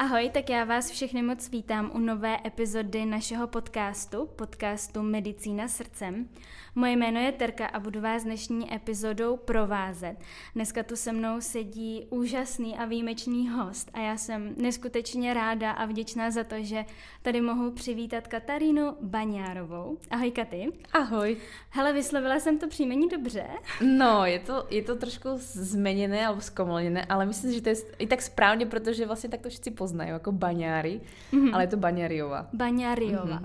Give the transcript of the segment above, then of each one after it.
Ahoj, tak já vás všechny moc vítám u nové epizody našeho podcastu Medicína srdcem. Moje jméno je Terka a budu vás dnešní epizodou provázet. Dneska tu se mnou sedí úžasný a výjimečný host a já jsem neskutečně ráda a vděčná za to, že tady mohu přivítat Katarínu Baňárovou. Ahoj Katy. Ahoj. Hele, vyslovila jsem to příjmení dobře? No, je to trošku zmeněné alebo zkomolněné, ale myslím, že to je i tak správně, protože vlastně tak to všichni poznají, jako Baňári, ale je to Baňáriová. Baňáriová.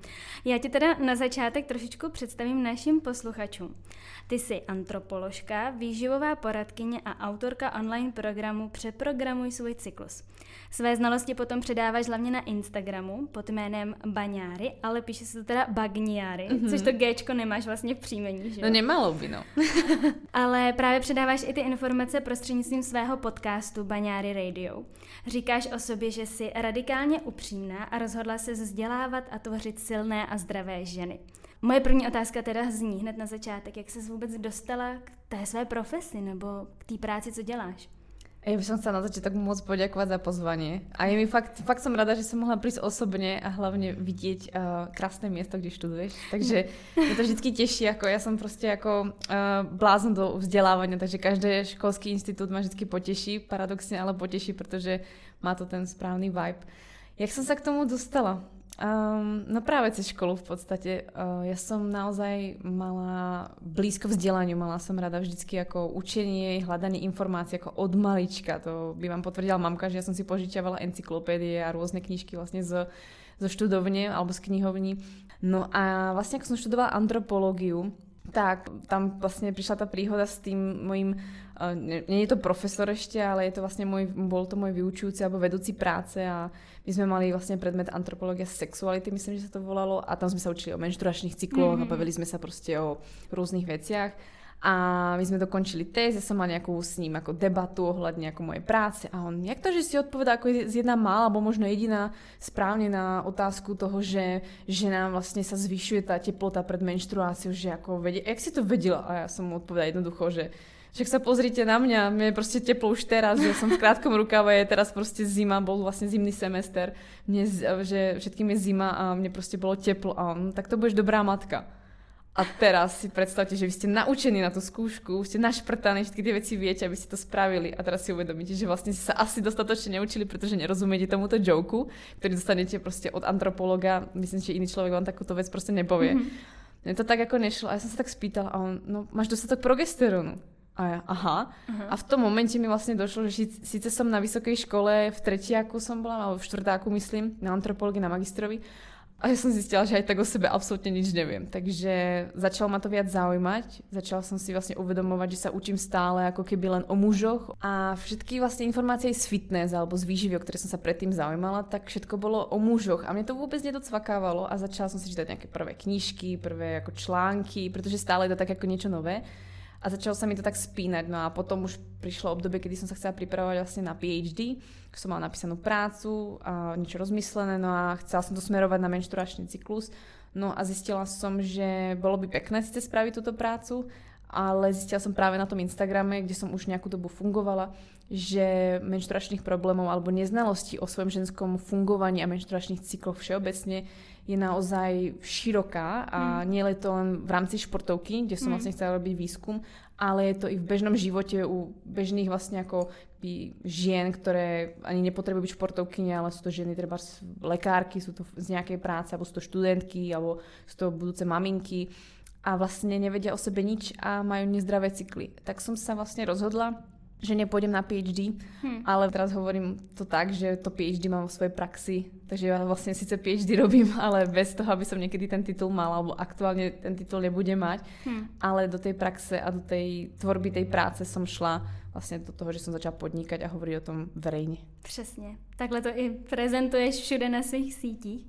Já ti teda na začátek trošičku představím našim posluchačům. Ty jsi antropoložka, výživová poradkyně a autorka online programu Přeprogramuj svůj cyklus. Své znalosti potom předáváš hlavně na Instagramu pod jménem Baňári, ale píše se to teda Bagniári, což to Gčko nemáš vlastně v příjmení, že jo? No nemalo by, no. Ale právě předáváš i ty informace prostřednictvím svého podcastu Baňári Radio. Říkáš o sobě, že jsi radikálně upřímná a rozhodla se vzdělávat a tvořit silné a zdravé ženy. Moje první otázka teda zní hned na začátek, jak ses vůbec dostala k té své profesi nebo k té práci, co děláš? Ja by som chcela na začiatok moc poďakovať za pozvanie. A je mi fakt som rada, že som mohla prísť osobne a hlavne vidieť krásne miesto, kde študuješ. Takže mě to vždycky teší, ako ja som proste ako blázon do vzdelávania, takže každý školský institut ma vždycky poteší, paradoxne, ale poteší, protože má to ten správný vibe. Jak som sa k tomu dostala? No práve cez školu v podstate. Ja som naozaj mala blízko vzdelaniu, mala som rada vždycky ako učenie, hľadanie informácií ako od malička. To by vám potvrdila mamka, že ja som si požičiavala encyklopédie a rôzne knižky vlastne zo študovne alebo z knihovní. No a vlastne ako som študovala antropológiu, tak tam vlastne prišla tá príhoda s tým mojím, nie je to profesor ešte, ale je to vlastne bol to môj vyučujúci alebo vedúci práce a my sme mali vlastne predmet antropológia sexuality, myslím, že sa to volalo a tam sme sa učili o menštruačných cykloch a bavili sme sa proste o rôznych veciach. A my sme dokončili test, ja som mala nejakú s ním ako debatu ohľadne ako mojej práce a on, jak to, že si odpovedá ako jedna mála, alebo možno jediná správne na otázku toho, že nám vlastne sa zvyšuje tá teplota pred menštruáciou, že ako vedie, jak si to vedela? A ja som mu odpovedala jednoducho, že však sa pozrite na mňa, mne je proste teplo už teraz, že som v krátkom rukáve, je teraz proste zima, bol vlastne zimný semester, že všetkým je zima a mne proste bolo teplo a on, tak to budeš dobrá matka. A teraz si predstavte, že vy ste naučení na tú skúšku, ste našprtaní, všetky tie veci viete, aby ste to spravili a teraz si uvedomíte, že vlastne ste sa asi dostatočne neučili, pretože nerozumiete tomuto joku, ktorý dostanete proste od antropologa. Myslím, že iný človek vám takúto vec proste nepovie. Mne to tak ako nešlo a ja som sa tak spýtala a on, no máš dostatok progesterónu. A ja, aha. A v tom momente mi vlastne došlo, že síce som na vysokej škole, v tretiaku som bola, alebo v štvrtáku myslím, na antropológii, na magistrovi. A ja som zistila, že aj tak o sebe absolútne nič neviem. Takže začalo ma to viac zaujímať. Začala som si vlastne uvedomovať, že sa učím stále ako keby len o mužoch. A všetky vlastne informácie z fitness alebo z výživy, o ktoré som sa predtým zaujímala, tak všetko bolo o mužoch. A mne to vôbec nedocvakávalo a začala som si čítať nejaké prvé knižky, prvé ako články, pretože stále je to tak ako niečo nové. A začalo sa mi to tak spínať, no a potom už prišlo obdobie, kedy som sa chcela pripravovať vlastne na PhD, som mala napísanú prácu a niečo rozmyslené, no a chcela som to smerovať na menštruačný cyklus, no a zistila som, že bolo by pekné síce spraviť túto prácu, ale zistila som práve na tom Instagrame, kde som už nejakú dobu fungovala, že menštruačných problémov alebo neznalostí o svojom ženskom fungovaní a menštruačných cykloch všeobecne je naozaj široká a nie je to len v rámci športovky, kde som vlastne chcela robiť výskum, ale je to i v bežnom živote u bežných vlastne ako žien, ktoré ani nepotrebujú byť športovkyne, ale sú to ženy, treba lekárky, sú to z nejakej práce, alebo sú to študentky, alebo sú to budúce maminky a vlastne nevedia o sebe nič a majú nezdravé cykly. Tak som sa vlastne rozhodla, že nepôjdem na PhD, ale teraz hovorím to tak, že to PhD mám vo svojej praxi, takže ja vlastne síce PhD robím, ale bez toho, aby som niekedy ten titul mala, alebo aktuálne ten titul nebudem mať, ale do tej praxe a do tej tvorby tej práce som šla vlastně do toho, že jsem začala podnikat a hovorit o tom verejně. Přesně. Takhle to i prezentuješ všude na svých sítích.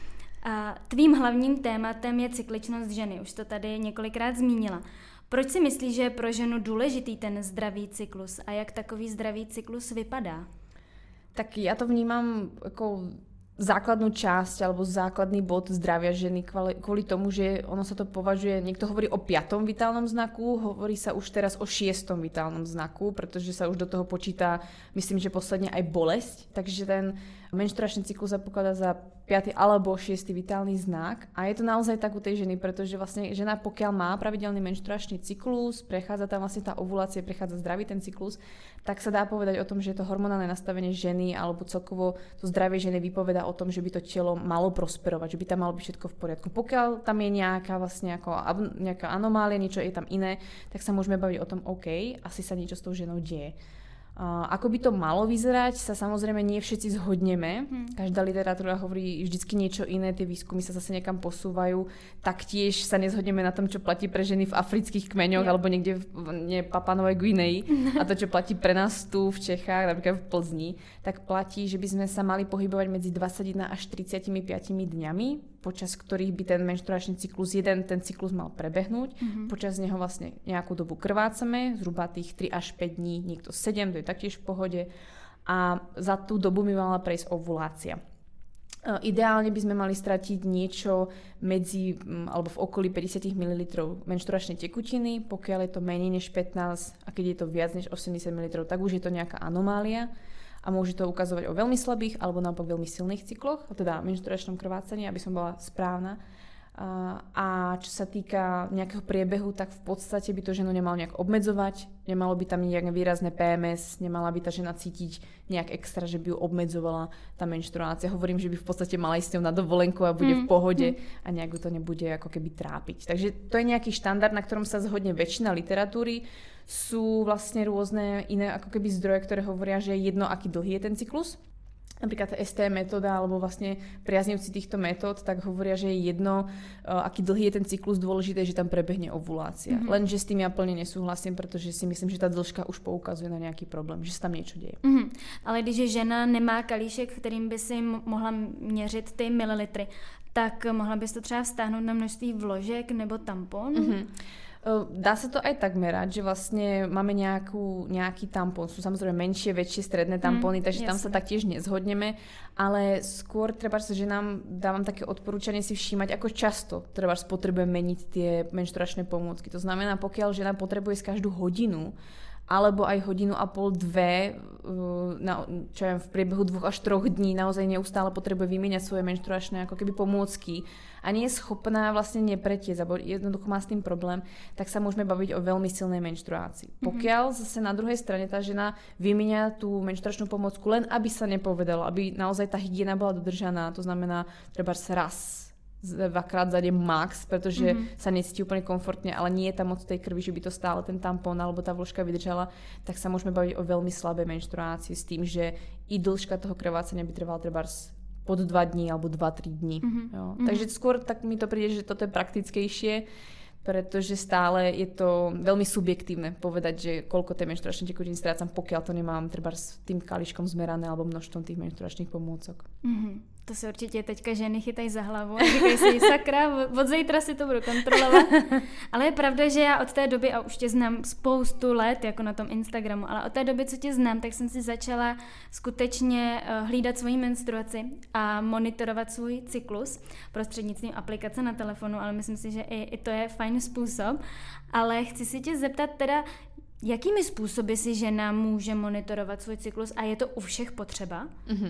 A tvým hlavním tématem je cykličnost ženy. Už to tady několikrát zmínila. Proč si myslíš, že je pro ženu důležitý ten zdravý cyklus a jak takový zdravý cyklus vypadá? Tak já to vnímám jako základnú časť alebo základný bod zdravia ženy kvôli tomu, že ono sa to považuje, niekto hovorí o 5. vitálnom znaku, hovorí sa už teraz o 6. vitálnom znaku, pretože sa už do toho počíta, myslím, že posledne aj bolesť, takže ten menštruačný cyklus sa pokladá za 5. alebo 6. vitálny znak a je to naozaj tak u tej ženy, pretože vlastne žena pokiaľ má pravidelný menštruačný cyklus, prechádza tam vlastne tá ovulácia, prechádza zdravý ten cyklus, tak sa dá povedať o tom, že to hormonálne nastavenie ženy alebo celkovo to zdravie ženy vypovedá o tom, že by to telo malo prosperovať, že by tam malo byť všetko v poriadku. Pokiaľ tam je nejaká vlastne nejaká anomália, niečo je tam iné, tak sa môžeme baviť o tom, OK, asi sa niečo s tou ženou deje. Ako by to malo vyzerať, sa samozrejme nie všetci zhodneme. Každá literatúra hovorí vždycky niečo iné, tie výskumy sa zase niekam posúvajú. Taktiež sa nezhodneme na tom, čo platí pre ženy v afrických kmeňoch alebo niekde v Papuanovej Guinei a to, čo platí pre nás tu v Čechách, napríklad v Plzni, tak platí, že by sme sa mali pohybovať medzi 21 až 35 dňami, počas ktorých by ten menštruačný cyklus, ten cyklus mal prebehnúť. Počas neho vlastne nejakú dobu krvácame, zhruba tých 3 až 5 dní, niekto 7, to je taktiež v pohode. A za tú dobu by mala prejsť ovulácia. Ideálne by sme mali stratiť niečo medzi, alebo v okolí 50 ml menštruačnej tekutiny, pokiaľ je to menej než 15 a keď je to viac než 80 ml, tak už je to nejaká anomália. A môže to ukazovať o veľmi slabých alebo naopak veľmi silných cykloch, teda menštruačnom krvácaní, aby som bola správna. A čo sa týka nejakého priebehu, tak v podstate by to ženu nemalo nejak obmedzovať, nemalo by tam nejaké výrazné PMS, nemala by tá žena cítiť nejak extra, že by ju obmedzovala tá menštruácia. Hovorím, že by v podstate mala ísť s ňou na dovolenku a bude v pohode a nejak ju to nebude ako keby trápiť. Takže to je nejaký štandard, na ktorom sa zhodne väčšina literatúry. Sú vlastne rôzne iné ako keby zdroje, ktoré hovoria, že je jedno, aký dlhý je ten cyklus. Napríklad ST metóda alebo vlastne priaznivci týchto metód, tak hovoria, že je jedno, aký dlhý je ten cyklus, dôležité je, že tam prebehne ovulácia. Lenže s tým ja plne nesúhlasím, pretože si myslím, že tá dĺžka už poukazuje na nejaký problém, že sa tam niečo deje. Ale když žena nemá kalíšek, kterým by si mohla měřit ty mililitry, tak mohla bys to třeba vztáhnout na množství vložek nebo tampon? Dá sa to aj tak merať, že vlastne máme nejaký tampón. Sú samozrejme menšie, väčšie, stredné tampóny, takže tam sa taktiež nezhodneme, ale skôr treba, že nám dávam také odporúčanie si všímať, ako často treba potrebujeme meniť tie menštruačné pomôcky. To znamená, pokiaľ žena potrebuje každú hodinu alebo aj hodinu a pol, 2, čo ja v priebehu 2 až 3 dní naozaj neustále potrebuje vymieňať svoje menštruačné ako keby pomôcky a nie je schopná vlastne nepretiecť, alebo jednoducho má s tým problém, tak sa môžeme baviť o veľmi silnej menštruácii. Pokiaľ zase na druhej strane tá žena vymieňa tú menštruačnú pomôcku len aby sa nepovedalo, aby naozaj tá hygiena bola dodržaná, to znamená treba raz, 2-krát za deň max, pretože sa necíti úplne komfortne, ale nie je tam moc tej krvi, že by to stále ten tampón alebo tá vložka vydržala, tak sa môžeme baviť o veľmi slabej menštruácii s tým, že i dĺžka toho krvácania by trvala treba pod 2 dní alebo 2-3 dní. Takže skôr tak mi to príde, že toto je praktickejšie, pretože stále je to veľmi subjektívne povedať, že koľko tej menštruačnej tekutiny strácam, pokiaľ to nemám treba s tým kališkom zmerané alebo množstvom tých menštruačných pomôcok. To se určitě teďka ženy chytají za hlavu a říkají si, sakra, od zítra si to budu kontrolovat. Ale je pravda, že já od té doby, a už tě znám spoustu let, jako na tom Instagramu, ale od té doby, co tě znám, tak jsem si začala skutečně hlídat svoji menstruaci a monitorovat svůj cyklus prostřednictvím aplikace na telefonu, ale myslím si, že i to je fajn způsob. Ale chci si tě zeptat teda, jakými způsoby si žena může monitorovat svůj cyklus a je to u všech potřeba?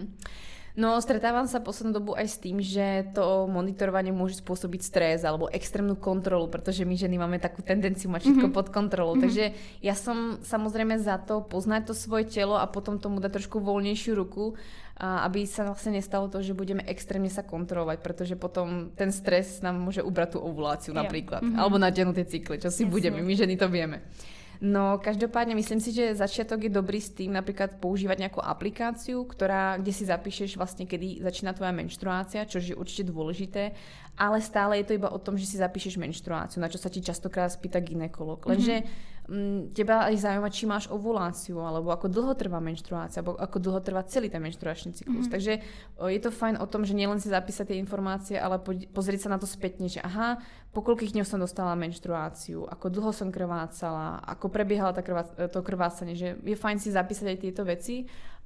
No, stretávam sa poslednú dobu aj s tým, že to monitorovanie môže spôsobiť stres alebo extrémnu kontrolu, pretože my ženy máme takú tendenciu mať všetko pod kontrolou. Takže ja som samozrejme za to poznať to svoje telo a potom tomu dať trošku voľnejšiu ruku, aby sa vlastne nestalo to, že budeme extrémne sa kontrolovať, pretože potom ten stres nám môže ubrať tú ovuláciu napríklad, alebo natiahnuť tie cykly, čo si budeme, my ženy to vieme. No každopádne myslím si, že začiatok je dobrý s tým napríklad používať nejakú aplikáciu, kde si zapíšeš vlastne, kedy začína tvoja menštruácia, čo je určite dôležité, ale stále je to iba o tom, že si zapíšeš menštruáciu, na čo sa ti častokrát spýta gynekolog. Lenže teba aj zaujíma, či máš ovuláciu, alebo ako dlho trvá menštruácia, alebo ako dlho trvá celý ten menštruačný cyklus. Takže je to fajn o tom, že nielen si zapísať tie informácie, ale pozrieť sa na to spätne, že aha, po koľkých dňoch som dostala menštruáciu, ako dlho som krvácala, ako prebiehala to krvácanie, že je fajn si zapísať aj tieto veci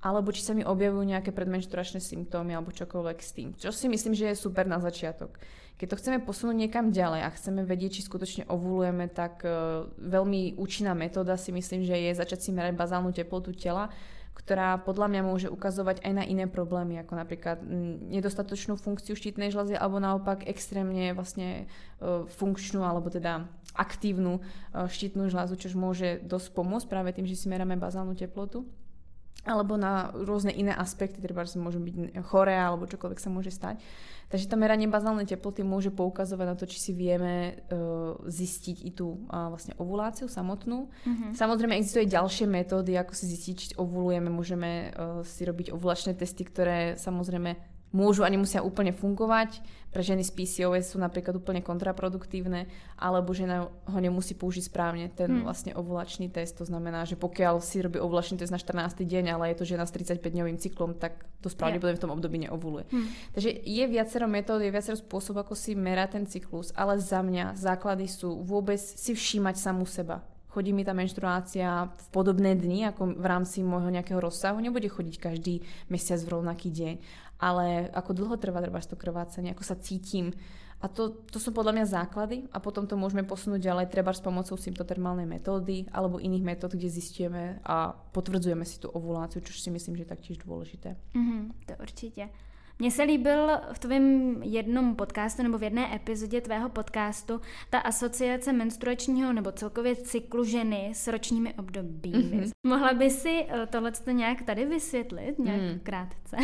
alebo či sa mi objavujú nejaké predmenšturačné symptómy alebo čokoľvek s tým. Čo si myslím, že je super na začiatok. Keď to chceme posunúť niekam ďalej a chceme vedieť, či skutočne ovulujeme, tak veľmi účinná metóda si myslím, že je začať si merať bazálnu teplotu tela, ktorá podľa mňa môže ukazovať aj na iné problémy, ako napríklad nedostatočnú funkciu štítnej žľazy alebo naopak extrémne vlastne funkčnú alebo teda aktívnu štítnu žľazu, čo môže dosť pomôcť práve tým, že si meráme bazálnu teplotu. Alebo na rôzne iné aspekty, treba, že môžu byť choré alebo čokoľvek sa môže stať. Takže to meranie bazálnej teploty môže poukazovať na to, či si vieme zistiť i tú vlastne ovuláciu samotnú. Samozrejme existujú aj ďalšie metódy, ako si zistiť, či ovulujeme. Môžeme si robiť ovulačné testy, ktoré samozrejme môžu a nemusia úplne fungovať. Pre ženy s PCOS sú napríklad úplne kontraproduktívne, alebo žena ho nemusí použiť správne, ten vlastne ovulačný test. To znamená, že pokiaľ si robí ovulačný test na 14. deň, ale je to žena s 35-dňovým cyklom, tak to pravdepodobne v tom období neovuluje. Takže je viacero metód, je viacero spôsob, ako si merať ten cyklus, ale za mňa základy sú vôbec si všímať samú seba. Chodí mi tá menštruácia v podobné dni, ako v rámci môjho nejakého rozsahu. Nebude chodiť každý mesiac v rovnaký deň, ale ako dlho trvá to krvácanie, ako sa cítim. A to sú podľa mňa základy a potom to môžeme posunúť ďalej treba s pomocou symptotermálnej metódy alebo iných metód, kde zistujeme a potvrdzujeme si tú ovuláciu, čo si myslím, že je taktiež dôležité. To určitě. Mně se líbil v tvém jednom podcastu nebo v jedné epizodě tvého podcastu ta asociace menstruačního nebo celkově cyklu ženy s ročními obdobími. Mohla by si tohleto nějak tady vysvětlit, nějak krátce?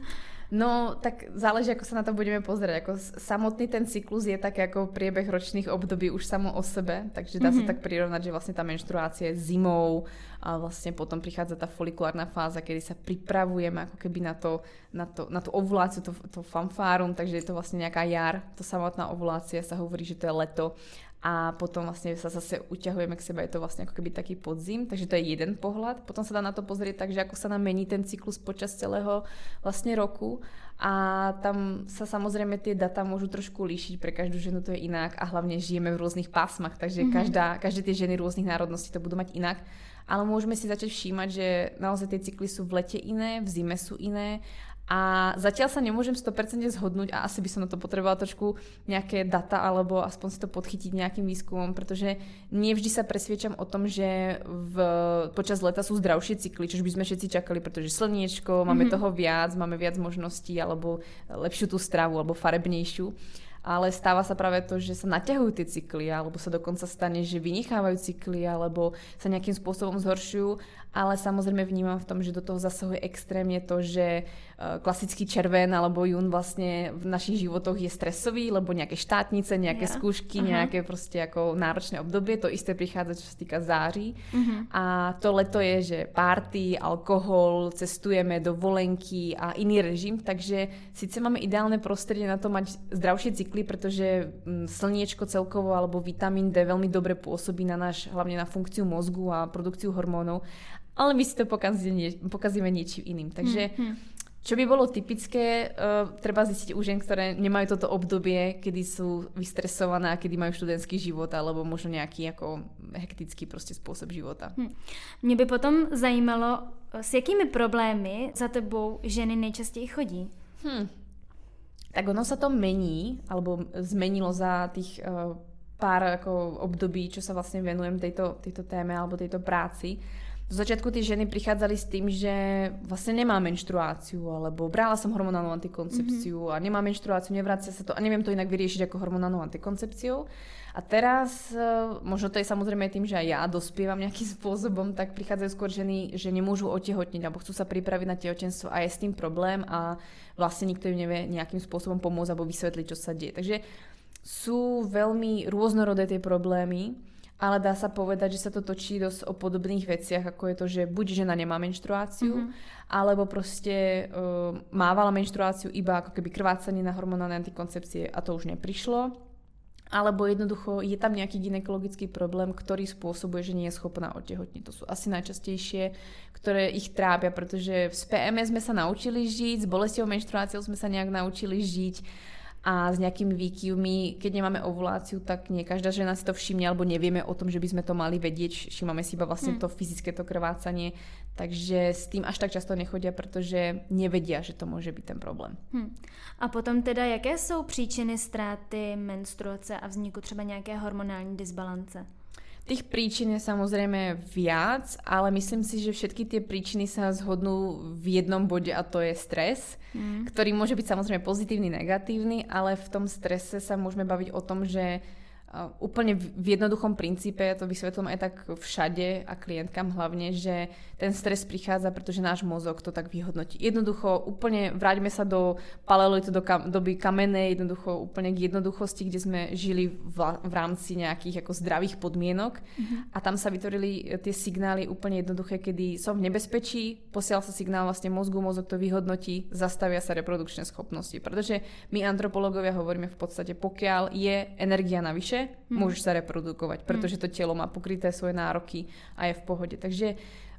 No, tak záleží, ako sa na to budeme pozrieť. Ako samotný ten cyklus je tak ako priebeh ročných období už samo o sebe, takže dá sa tak prirovnať, že vlastne tá menštruácia je zimou a vlastne potom prichádza tá folikulárna fáza, kedy sa pripravujeme ako keby na tú ovuláciu, to fanfárum, takže je to vlastne nejaká jar, to samotná ovulácia sa hovorí, že to je leto. A potom vlastne sa zase uťahujeme k sebe, je to vlastne ako keby taký podzim, takže to je jeden pohľad. Potom sa dá na to pozrieť tak, že ako sa nám mení ten cyklus počas celého vlastne roku a tam sa samozrejme tie data môžu trošku líšiť, pre každú ženu to je inak a hlavne žijeme v rôznych pásmach, takže každé tie ženy rôznych národností to budú mať inak. Ale môžeme si začať všímať, že naozaj tie cykly sú v lete iné, v zime sú iné. A zatiaľ sa nemôžem 100% zhodnúť a asi by som na to potrebovala trošku nejaké data alebo aspoň si to podchytiť nejakým výskumom, pretože nie vždy sa presviečam o tom, že počas leta sú zdravšie cykly, čo by sme všetci čakali, pretože slniečko, máme toho viac, máme viac možností alebo lepšiu tú stravu alebo farebnejšiu. Ale stáva sa práve to, že sa naťahujú tie cykly alebo sa dokonca stane, že vynechávajú cykly alebo sa nejakým spôsobom zhoršujú, ale samozrejme vnímam v tom, že do toho zasahuje extrémne to, že klasický červen alebo jún vlastne v našich životoch je stresový, lebo nejaké štátnice, nejaké skúšky, nejaké proste ako náročné obdobie, to isté prichádza, čo sa týka září. A to leto je, že party, alkohol, cestujeme, dovolenky a iný režim, takže síce máme ideálne prostredie na to mať zdravšie cykly, pretože slniečko celkovo alebo vitamín D veľmi dobre pôsobí na hlavne na funkciu mozgu a produkciu hormónov, ale my si to pokazíme niečím iným. Takže čo by bolo typické, treba zistiť u žien, ktoré nemajú toto obdobie, kedy sú vystresované a kedy majú študentský život alebo možno nejaký ako hektický proste spôsob života. Mě by potom zajímalo, s jakými problémy za tebou ženy nejčastěji chodí? Tak ono sa to mení, alebo zmenilo za tých pár ako období, čo sa vlastne venujem tejto téme alebo tejto práci. Do začiatku tie ženy prichádzali s tým, že vlastne nemá menštruáciu, alebo brala som hormonálnu antikoncepciu a nemá menštruáciu, nevracia sa to a neviem to inak vyriešiť ako hormonálnou antikoncepciou. A teraz, možno to je samozrejme tým, že aj ja dospievam nejakým spôsobom, tak prichádzajú skôr ženy, že nemôžu otehotniť, alebo chcú sa pripraviť na tehotenstvo a je s tým problém a vlastne nikto im nevie nejakým spôsobom pomôcť alebo vysvetliť, čo sa deje. Takže sú veľmi rôznorodé tie problémy, ale dá sa povedať, že sa to točí dosť o podobných veciach, ako je to, že buď žena nemá menštruáciu, alebo proste mávala menštruáciu iba ako keby krvácanie na hormonálne antikoncepcie a to už neprišlo. Alebo jednoducho je tam nejaký gynekologický problém, ktorý spôsobuje, že nie je schopná otehotniť. To sú asi najčastejšie, ktoré ich trápia, pretože s PMS sme sa naučili žiť, s bolestivou menštruáciou sme sa nejak naučili žiť a s nejakými výkyvmi, keď nemáme ovuláciu, tak nie každá žena si to všimne, alebo nevieme o tom, že by sme to mali vedieť, všímame si iba vlastne to fyzické to krvácanie, takže s tým až tak často nechodia, protože nevedia, že to môže byť ten problém. A potom teda, jaké jsou příčiny ztráty menstruace a vzniku třeba nějaké hormonální disbalance? Tých príčin je samozrejme viac, ale myslím si, že všetky tie príčiny sa zhodnú v jednom bode a to je stres, ktorý môže byť samozrejme pozitívny, negatívny, ale v tom strese sa môžeme baviť o tom, že úplne v jednoduchom princípe, ja to vysvetlím aj tak všade a klientkám hlavne, že ten stres prichádza, pretože náš mozog to tak vyhodnotí. Jednoducho úplne vráťme sa do paleolitu, do doby kamennej, jednoducho úplne k jednoduchosti, kde sme žili v rámci nejakých ako zdravých podmienok a tam sa vytvorili tie signály úplne jednoduché, kedy som v nebezpečí, posiela sa signál vlastne mozgu, mozog to vyhodnotí, zastavia sa reprodukčné schopnosti, pretože my antropológovia hovoríme v podstate, pokiaľ je energia navyše, môžeš sa reprodukovať, pretože to telo má pokryté svoje nároky a je v pohode. Takže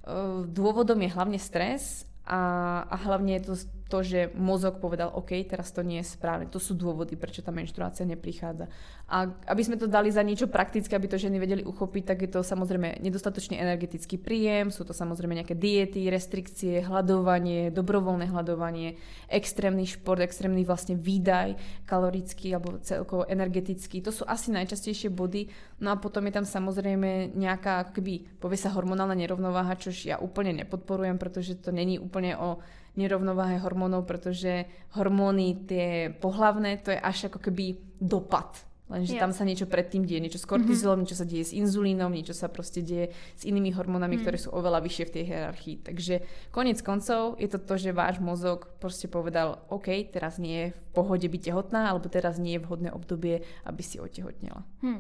dôvodom je hlavne stres a hlavne je to, že mozog povedal, OK, teraz to nie je správne. To sú dôvody, prečo tá menštruácia neprichádza. A aby sme to dali za niečo praktické, aby to ženy vedeli uchopiť, tak je to samozrejme nedostatočný energetický príjem, sú to samozrejme nejaké diety, restrikcie, hladovanie, dobrovoľné hladovanie, extrémny šport, extrémny vlastne výdaj kalorický alebo celkovo energetický. To sú asi najčastejšie body. No a potom je tam samozrejme nejaká, ako keby povie sa hormonálna nerovnováha, čož ja úplne nepodporujem, pretože to není úplne o nerovnováhe hormónov, pretože hormóny tie pohlavné, to je až ako keby dopad. Lenže tam sa niečo predtým deje, niečo s kortizolom, niečo sa deje s inzulínom, niečo sa proste deje s inými hormónami, ktoré sú oveľa vyššie v tej hierarchii. Takže koniec koncov je to, že váš mozog proste povedal, OK, teraz nie je v pohode byť tehotná, alebo teraz nie je vhodné obdobie, aby si otehotnela.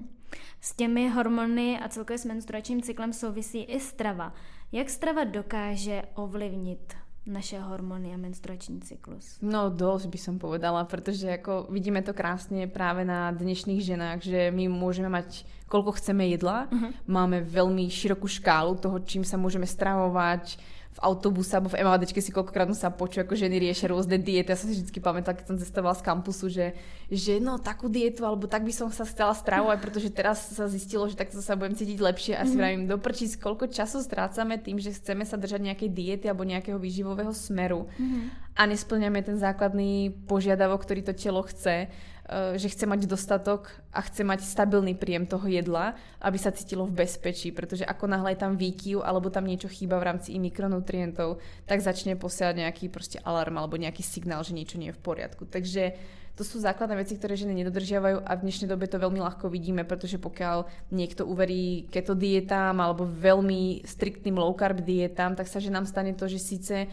S těmi hormony a celkově s menstruačním cyklem souvisí i strava. Jak strava dokáže ovlivnit naše hormóny a menstruační cyklus? No dosť by som povedala, pretože ako vidíme to krásne práve na dnešných ženách, že my môžeme mať koľko chceme jedla, máme veľmi širokú škálu toho, čím sa môžeme stravovať, v autobuse alebo v MHDčke si koľkokrát sa počuť, ako ženy riešia rôzne diety. Ja som si vždy pamätala, keď som cestovala z kampusu, že no takú dietu, alebo tak by som sa chcela stravovať, pretože teraz sa zistilo, že takto sa budem cítiť lepšie a si vravím, doprčí, koľko času strácame tým, že chceme sa držať nejakej diety alebo nejakého výživového smeru a nesplňame ten základný požiadavok, ktorý to telo chce, že chce mať dostatok a chce mať stabilný príjem toho jedla, aby sa cítilo v bezpečí, pretože ako náhle je tam výkyv alebo tam niečo chýba v rámci i mikronutrientov, tak začne posielať nejaký proste alarm alebo nejaký signál, že niečo nie je v poriadku. Takže to sú základné veci, ktoré ženy nedodržiavajú a v dnešnej dobe to veľmi ľahko vidíme, pretože pokiaľ niekto uverí keto dietám alebo veľmi striktným low carb dietám, tak sa ženám stane to, že síce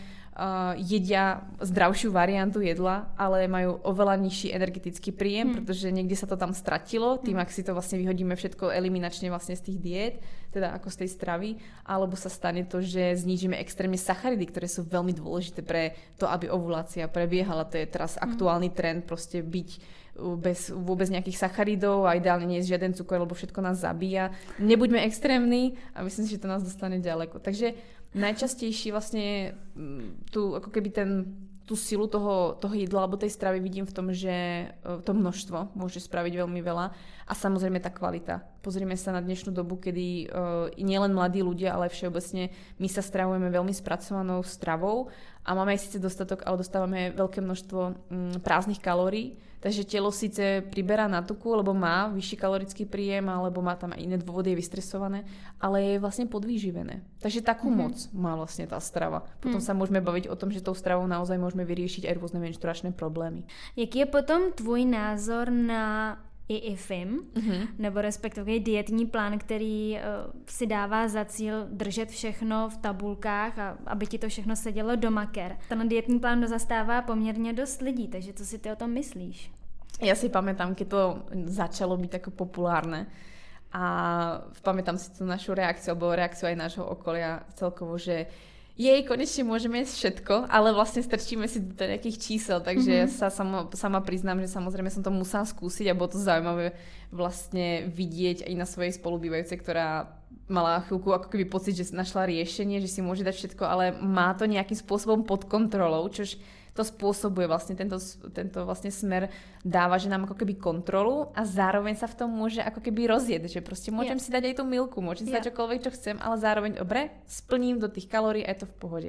jedia zdravšiu variantu jedla, ale majú oveľa nižší energetický príjem, pretože niekde sa to tam stratilo, tým ak si to vlastne vyhodíme všetko eliminačne vlastne z tých diét, teda ako z tej stravy, alebo sa stane to, že znížime extrémne sacharidy, ktoré sú veľmi dôležité pre to, aby ovulácia prebiehala. To je teraz aktuálny trend, proste byť bez vôbec nejakých sacharidov a ideálne nie je žiaden cukor, lebo všetko nás zabíja. Nebuďme extrémni a myslím si, že to nás dostane ďaleko. Takže najčastejší vlastne ako keby tú silu toho jedla alebo tej stravy vidím v tom, že to množstvo môže spraviť veľmi veľa a samozrejme tá kvalita. Pozrime sa na dnešnú dobu, kedy nielen mladí ľudia, ale všeobecne my sa stravujeme veľmi spracovanou stravou a máme aj síce dostatok, ale dostávame veľké množstvo prázdnych kalórií. Takže telo síce priberá na tuku, lebo má vyšší kalorický príjem, alebo má tam aj iné dôvody, je vystresované, ale je vlastne podvýživené. Takže takú moc má vlastne tá strava. Potom sa môžeme baviť o tom, že tou stravou naozaj môžeme vyriešiť aj rôzne menštruačné problémy. Jaký je potom tvůj názor na IIFIM, nebo respektive dietní plán, který si dává za cíl držet všechno v tabulkách a aby ti to všechno sedělo do maker. Ten dietní plán zastává poměrně dost lidí, takže co si ty o tom myslíš? Ja si pamätám, keď to začalo byť tako populárne a pamätám si tú našu reakciu, alebo reakciu aj nášho okolia celkovo, že konečne môžeme jesť všetko, ale vlastne strčíme si do nejakých čísel, takže ja sa sama priznám, že samozrejme som to musela skúsiť a bolo to zaujímavé vlastne vidieť aj na svojej spolubývajúcej, ktorá mala chvíľku ako keby pocit, že našla riešenie, že si môže dať všetko, ale má to nejakým spôsobom pod kontrolou, čož to spôsobuje vlastne tento vlastne smer dáva, že nám ako keby kontrolu a zároveň sa v tom môže ako keby rozjeť, že proste môžem si dať aj tú milku, môžem si dať čokoľvek, čo chcem, ale zároveň dobre, splním do tých kalórií a je to v pohode.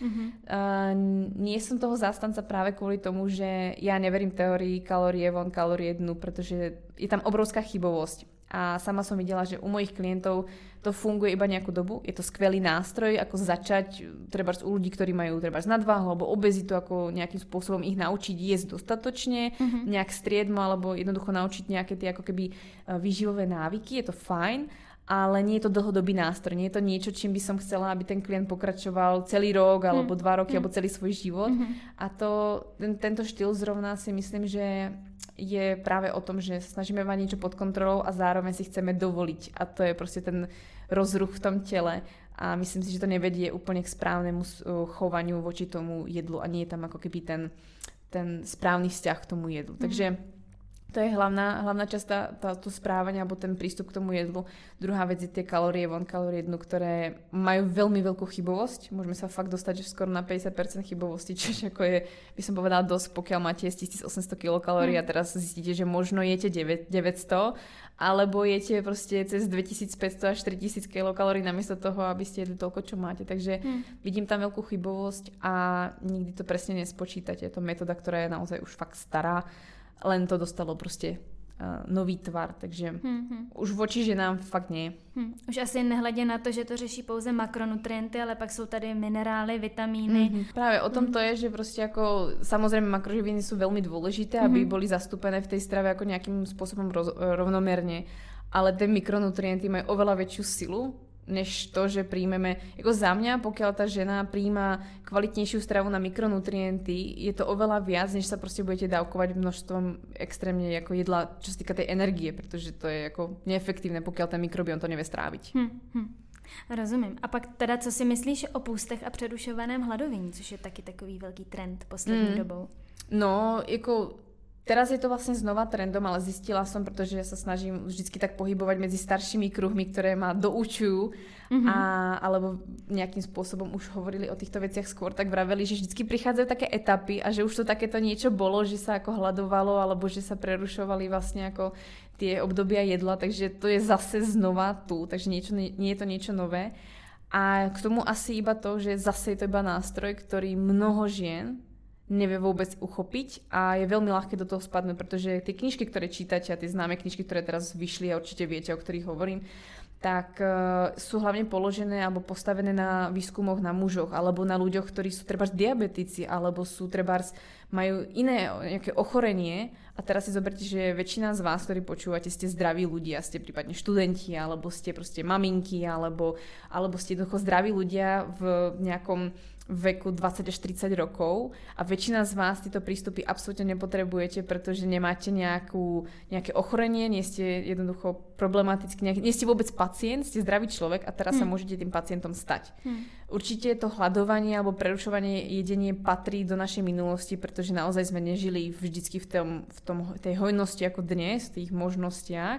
Nie som toho zástanca práve kvôli tomu, že ja neverím teórii kalórie von, kalórie dnu, pretože je tam obrovská chybovosť. A sama som videla, že u mojich klientov to funguje iba nejakú dobu. Je to skvelý nástroj, ako začať trebárs u ľudí, ktorí majú trebárs nadváhu alebo obezitu, ako nejakým spôsobom ich naučiť jesť dostatočne, nejak striedmo alebo jednoducho naučiť nejaké tie ako keby výživové návyky. Je to fajn, ale nie je to dlhodobý nástroj. Nie je to niečo, čím by som chcela, aby ten klient pokračoval celý rok alebo 2 roky alebo celý svoj život. A tento štýl zrovna si myslím, že je práve o tom, že snažíme mať niečo pod kontrolou a zároveň si chceme dovoliť. A to je proste ten rozruch v tom tele. A myslím si, že to nevedie úplne k správnemu chovaniu voči tomu jedlu a nie je tam ako keby ten správny vzťah k tomu jedlu. Takže to je hlavná časť to správanie alebo ten prístup k tomu jedlu. Druhá vec je tie kalórie von, kalórie dnu, ktoré majú veľmi veľkú chybovosť. Môžeme sa fakt dostať že skoro na 50% chybovosti, čo ako je, by som povedala, dosť, pokiaľ máte 1800 kilokalórií a teraz zistíte, že možno jete 900, alebo jete proste cez 2500 až 3000 kilokalórií namiesto toho, aby ste jedli toľko, čo máte. Takže vidím tam veľkú chybovosť a nikdy to presne nespočítate. Je to metóda, ktorá je naozaj už fakt stará. Len to dostalo proste nový tvar, takže už voči ženám fakt nie. Už asi nehledě na to, že to řeší pouze makronutrienty, ale pak jsou tady minerály, vitamíny. Práve o tom to je, že proste ako samozrejme makroživiny sú veľmi dôležité, aby boli zastúpené v tej strave ako nejakým spôsobom rovnomerne, ale tie mikronutrienty majú oveľa väčšiu silu, než to, že príjmeme, ako za mňa, pokiaľ tá žena príjma kvalitnejšiu stravu na mikronutrienty, je to oveľa viac, než sa proste budete dávkovať množstvom extrémne ako jedla, čo sa týka tej energie, pretože to je ako neefektívne, pokiaľ ten mikrobiom to nevie stráviť. Rozumím. A pak teda, co si myslíš o půstech a přerušovaném hladovění, což je taky takový velký trend poslední dobou? No, ako teraz je to vlastne znova trendom, ale zistila som, pretože ja sa snažím vždycky tak pohybovať medzi staršími kruhmi, ktoré ma doučujú alebo nejakým spôsobom už hovorili o týchto veciach skôr, tak vraveli, že vždycky prichádzajú také etapy a že už to takéto niečo bolo, že sa ako hladovalo alebo že sa prerušovali vlastne ako tie obdobia jedla, takže to je zase znova tu, takže nie je to niečo nové. A k tomu asi iba to, že zase je to iba nástroj, ktorý mnoho žien nevie vôbec uchopiť a je veľmi ľahké do toho spadnúť, pretože tie knižky, ktoré čítate a tie známe knižky, ktoré teraz vyšli a určite viete, o ktorých hovorím, tak sú hlavne položené alebo postavené na výskumoch na mužoch alebo na ľuďoch, ktorí sú trebárs diabetici alebo sú trebárs majú iné nejaké ochorenie a teraz si zoberte, že väčšina z vás, ktorí počúvate, ste zdraví ľudia, ste prípadne študenti alebo ste proste maminky alebo ste jednoducho zdraví ľudia v nejakom veku 20 až 30 rokov a väčšina z vás tieto prístupy absolútne nepotrebujete, pretože nemáte nejaké ochorenie, nie ste jednoducho problematický, nie ste vôbec pacient, ste zdravý človek a teraz sa môžete tým pacientom stať. Určite to hladovanie alebo prerušovanie jedenie patrí do našej minulosti, pretože naozaj sme nežili vždycky v tej hojnosti ako dnes, v tých možnostiach,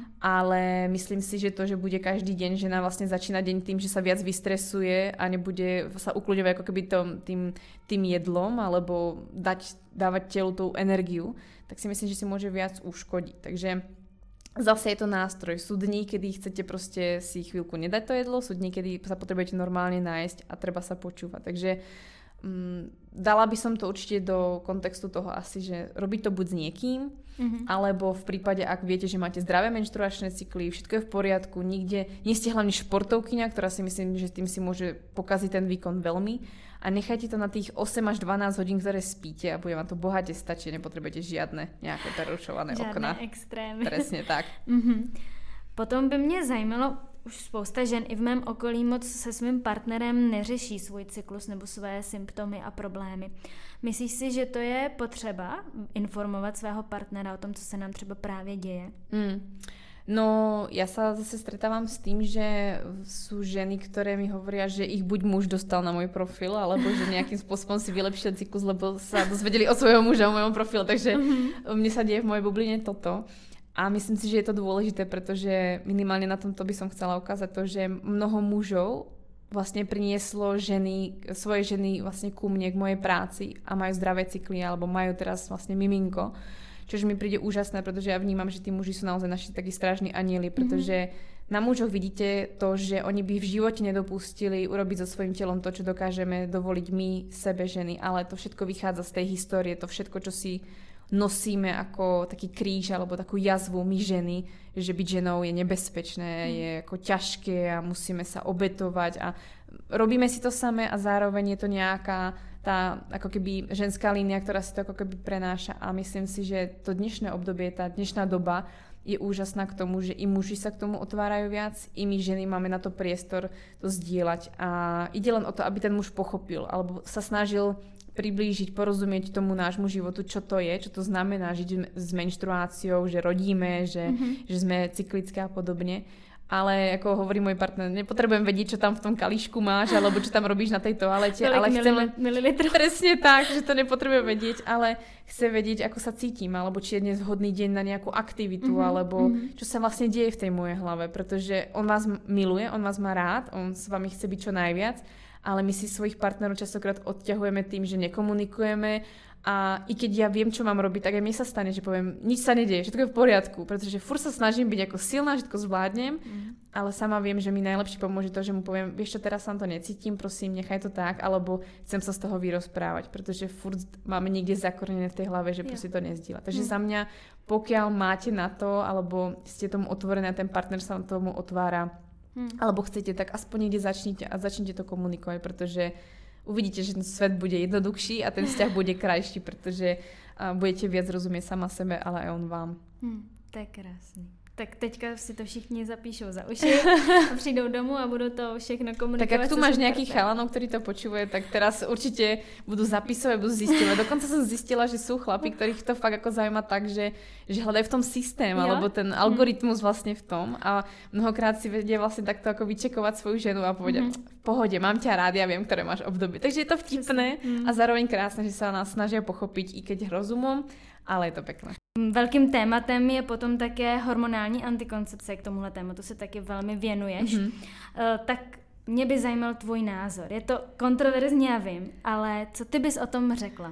ale myslím si, že to, že bude každý deň žena vlastne začína deň tým, že sa viac vystresuje a nebude sa ukľudňovať ako keby tým jedlom alebo dávať telu tú energiu, tak si myslím, že si môže viac uškodiť. Takže zase je to nástroj. Sú dní, kedy chcete proste si chvíľku nedať to jedlo, sú dní, kedy sa potrebujete normálne nájsť a treba sa počúvať. Takže dala by som to určite do kontextu toho asi, že robiť to buď s niekým, alebo v prípade, ak viete, že máte zdravé menštruačné cykly, všetko je v poriadku, nie ste hlavne športovkyňa, ktorá si myslím, že tým si môže pokaziť ten výkon veľmi a nechajte to na tých 8 až 12 hodín, ktoré spíte a bude vám to bohate stačiť, nepotrebujete žiadne nejaké prerušované okna. Žádné extrémy. Presne tak. Potom by mě zajímalo, už spousta žen i v mém okolí moc se svým partnerem neřeší svůj cyklus nebo své symptomy a problémy. Myslíš si, že to je potřeba informovat svého partnera o tom, co se nám třeba právě děje? No, ja sa zase stretávam s tým, že sú ženy, ktoré mi hovoria, že ich buď muž dostal na môj profil, alebo že nejakým spôsobom si vylepšil cyklus, lebo sa dozvedeli od svojho muža o mojom profile, takže mne sa deje v mojej bubline toto. A myslím si, že je to dôležité, pretože minimálne na tomto by som chcela ukázať to, že mnoho mužov vlastne prinieslo svoje ženy vlastne ku mne, k mojej práci a majú zdravé cykly, alebo majú teraz vlastne miminko. Čož mi príde úžasné, pretože ja vnímam, že tí muži sú naozaj naši takí strážni anieli, pretože na mužoch vidíte to, že oni by v živote nedopustili urobiť so svojím telom to, čo dokážeme dovoliť my, sebe ženy, ale to všetko vychádza z tej histórie, to všetko, čo si nosíme ako taký kríž alebo takú jazvu my ženy, že byť ženou je nebezpečné, je ako ťažké a musíme sa obetovať a robíme si to samé a zároveň je to nejaká tá ako keby ženská línia, ktorá si to ako keby prenáša a myslím si, že to dnešné obdobie, tá dnešná doba je úžasná k tomu, že i muži sa k tomu otvárajú viac, i my ženy máme na to priestor to zdieľať a ide len o to, aby ten muž pochopil alebo sa snažil priblížiť, porozumieť tomu nášmu životu, čo to je, čo to znamená žiť s menštruáciou, že rodíme, že sme cyklické a podobne. Ale ako hovorí môj partner, nepotrebujem vedieť, čo tam v tom kalíšku máš, alebo čo tam robíš na tej toalete, ale chcem mililitrov. Presne tak, že to nepotrebujem vedieť, ale chce vedieť, ako sa cítim, alebo či je dnes vhodný deň na nejakú aktivitu, alebo čo sa vlastne deje v tej mojej hlave, pretože on vás miluje, on vás má rád, on s vami chce byť čo najviac, ale my si svojich partnerov častokrát odťahujeme tým, že nekomunikujeme a i keď ja viem, čo mám robiť, tak aj mne sa stane, že poviem, nič sa nedieje, všetko je v poriadku, pretože furt sa snažím byť ako silná, všetko zvládnem, ale sama viem, že mi najlepšie pomôže to, že mu poviem, vieš čo, teraz sa to necítim, prosím, nechaj to tak, alebo chcem sa z toho vyrozprávať, pretože furt máme niekde zakorenené v tej hlave, že proste to nezdieľa. Takže za mňa, pokiaľ máte na to, alebo ste tomu otvorené a ten partner sa tomu otvára, alebo chcete, tak aspoň niekde začnite to komunikovať, pretože uvidíte, že ten svet bude jednoduchší a ten vzťah bude krajší, pretože budete viac rozumieť sama sebe, ale aj on vám. To je krásný. Tak teďka si to všichni zapíšou za uši a přijdou domů a budou to všechno komunikovat. Tak ak tu máš nejakých chalanov, ktorí to počúvajú, tak teraz určite budú zapisovať, budú zisťovať. Dokonca som zistila, že sú chlapi, ktorých to fakt ako zaujíma tak, že hľadajú v tom systém, alebo ten algoritmus vlastne v tom a mnohokrát si vedia vlastne takto ako vyčekovať svoju ženu a povedať, v pohode, mám ťa rád, ja viem, ktoré máš obdobie. Takže je to vtipné a zároveň krásne, že sa nás snažia pochopiť, i keď rozumom, ale je to pekné. Velkým tématem je potom také hormonální antikoncepce, k tomuhle tématu se taky velmi věnuješ. Tak mě by zajímal tvůj názor. Je to kontroverzní, já vím, ale co ty bys o tom řekla?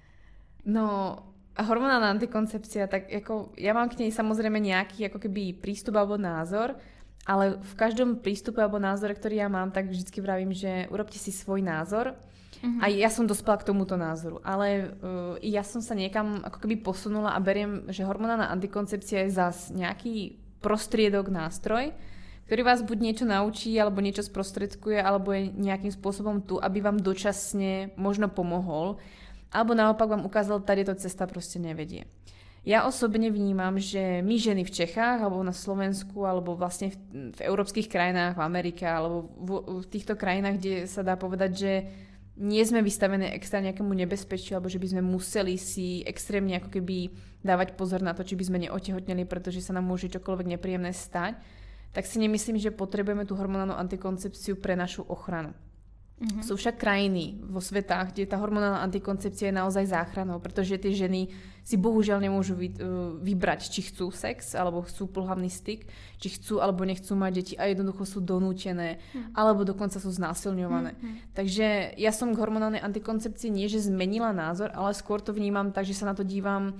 No, hormonálna antikoncepcia, tak ako, ja mám k nej samozrejme nejaký ako keby prístup alebo názor, ale v každom prístupe alebo názore, ktorý ja mám, tak vždycky vravím, že urobte si svoj názor. A ja som dospela k tomuto názoru, ale ja som sa niekam ako keby posunula a beriem, že hormonálna antikoncepcia je zas nejaký prostriedok, nástroj, ktorý vás buď niečo naučí, alebo niečo sprostredkuje, alebo je nejakým spôsobom tu, aby vám dočasne možno pomohol, alebo naopak vám ukázal, tady to cesta proste nevedie. Ja osobne vnímam, že my ženy v Čechách, alebo na Slovensku, alebo vlastne v európskych krajinách, v Amerike, alebo v týchto krajinách, kde sa dá povedať, že nie sme vystavené extra nejakému nebezpečiu, alebo že by sme museli si extrémne ako keby dávať pozor na to, či by sme neotehotneli, pretože sa nám môže čokoľvek nepríjemné stať, tak si nemyslím, že potrebujeme tú hormonálnu antikoncepciu pre našu ochranu. Sú však krajiny vo svetách, kde tá hormonálna antikoncepcia je naozaj záchranou, pretože tie ženy si bohužiaľ nemôžu vybrať, či chcú sex, alebo chcú pohlavný styk, či chcú alebo nechcú mať deti a jednoducho sú donútené, alebo dokonca sú znásilňované. Takže ja som k hormonálnej antikoncepcii nie, že zmenila názor, ale skôr to vnímam tak, že sa na to dívam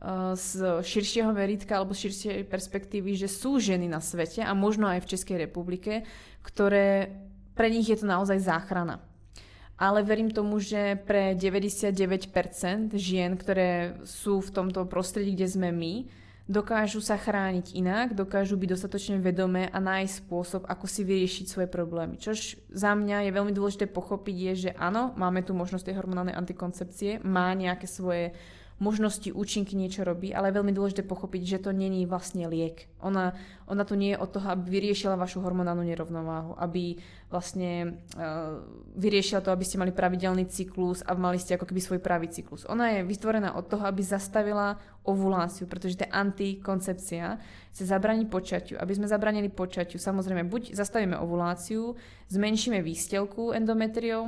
z širšieho meritka alebo z širšej perspektívy, že sú ženy na svete a možno aj v Českej republike, ktoré pre nich je to naozaj záchrana. Ale verím tomu, že pre 99% žien, ktoré sú v tomto prostredí, kde sme my, dokážu sa chrániť inak, dokážu byť dostatočne vedomé a nájsť spôsob, ako si vyriešiť svoje problémy. Čož za mňa je veľmi dôležité pochopiť je, že áno, máme tu možnosť tej hormonálnej antikoncepcie, má nejaké svoje možnosti, účinky, niečo robí, ale je veľmi dôležité pochopiť, že to není vlastne liek. Ona tu nie je od toho, aby vyriešila vašu hormonálnu nerovnováhu, aby vlastne vyriešila to, aby ste mali pravidelný cyklus a mali ste ako keby svoj pravý cyklus. Ona je vytvorená od toho, aby zastavila ovuláciu, pretože to je antikoncepcia, chce zabrániť počatiu. Aby sme zabránili počatiu, samozrejme buď zastavíme ovuláciu, zmenšíme výstelku endometrium,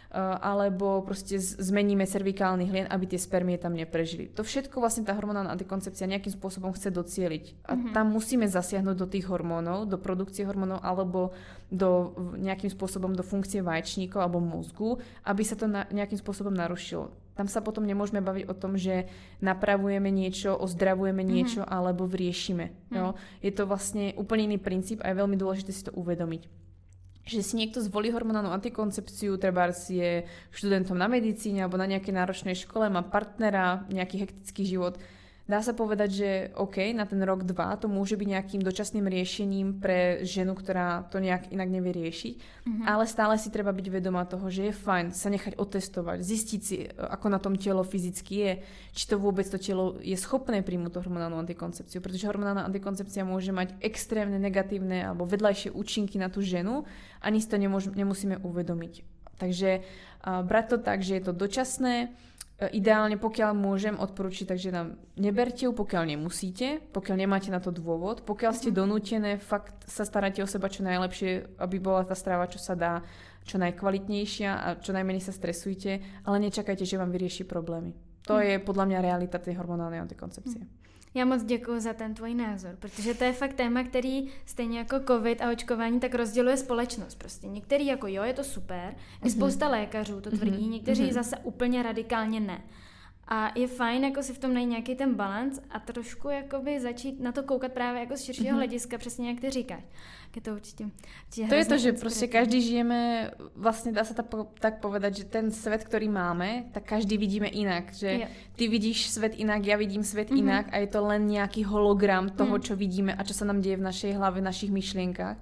alebo proste zmeníme cervikálny hlien, aby tie spermie tam neprežili. To všetko vlastne tá hormonálna antikoncepcia nejakým spôsobom chce docieliť. A tam musíme zasiahnuť do tých hormónov, do produkcie hormónov alebo nejakým spôsobom do funkcie vaječníkov alebo mozgu, aby sa to nejakým spôsobom narušilo. Tam sa potom nemôžeme baviť o tom, že napravujeme niečo, ozdravujeme niečo alebo vriešime. Jo? Je to vlastne úplne iný princíp a je veľmi dôležité si to uvedomiť. Že si niekto zvolí hormonálnu antikoncepciu, trebárs je študentom na medicíne alebo na nejakej náročnej škole, má partnera, nejaký hektický život. Dá sa povedať, že OK, na ten rok, 2 to môže byť nejakým dočasným riešením pre ženu, ktorá to nejak inak nevie riešiť, ale stále si treba byť vedomá toho, že je fajn sa nechať otestovať, zistiť si, ako na tom telo fyzicky je, či to vôbec to telo je schopné príjmuť tú hormonálnu antikoncepciu, pretože hormonálna antikoncepcia môže mať extrémne negatívne alebo vedľajšie účinky na tú ženu, ani si to nemusíme uvedomiť. Takže brať to tak, že je to dočasné. Ideálne, pokiaľ môžem odporučiť, takže nám neberte ju, pokiaľ nemusíte, pokiaľ nemáte na to dôvod, pokiaľ ste donútené, fakt sa staráte o seba čo najlepšie, aby bola tá strava, čo sa dá, čo najkvalitnejšia a čo najmenej sa stresujte, ale nečakajte, že vám vyrieši problémy. To je podľa mňa realita tej hormonálnej antikoncepcie. Já moc děkuji za ten tvůj názor, protože to je fakt téma, který stejně jako covid a očkování tak rozděluje společnost. Prostě některý jako jo, je to super, i spousta lékařů to tvrdí, někteří zase úplně radikálně ne. A je fajn jako si v tom najít nějaký ten balans a trošku jakoby začít na to koukat právě jako z širšího hlediska, přesně jak ty říkáš. Je to určitě to je to, že proste každý žijeme, vlastne dá sa tak povedať, že ten svet, ktorý máme, tak každý vidíme inak. Že ty vidíš svet inak, ja vidím svet inak a je to len nejaký hologram toho, čo vidíme a čo sa nám deje v našej hlave, v našich myšlienkach.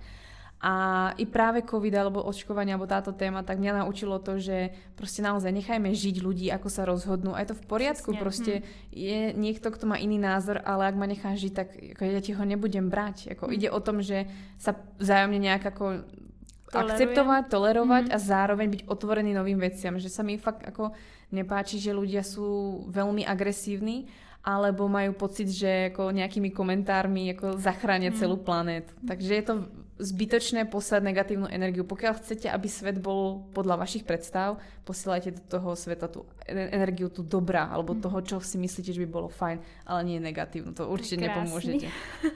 A i práve COVID alebo očkovanie alebo táto téma, tak mňa naučilo to, že proste naozaj nechajme žiť ľudí, ako sa rozhodnú a je to v poriadku, proste je niekto, kto má iný názor, ale ak ma nechá žiť, tak ako ja ti ho nebudem brať. Ako ide o tom, že sa vzájomne nejak ako akceptovať, tolerovať a zároveň byť otvorený novým veciam, že sa mi fakt ako nepáči, že ľudia sú veľmi agresívni alebo majú pocit, že ako nejakými komentármi ako zachránia celú planétu. Takže je to zbytočné poslať negatívnu energiu. Pokiaľ chcete, aby svet bol podľa vašich predstav, posielajte do toho sveta tú energiu, tú dobrá, alebo toho, čo si myslíte, že by bolo fajn, ale nie negatívnu. To určite nepomôžete.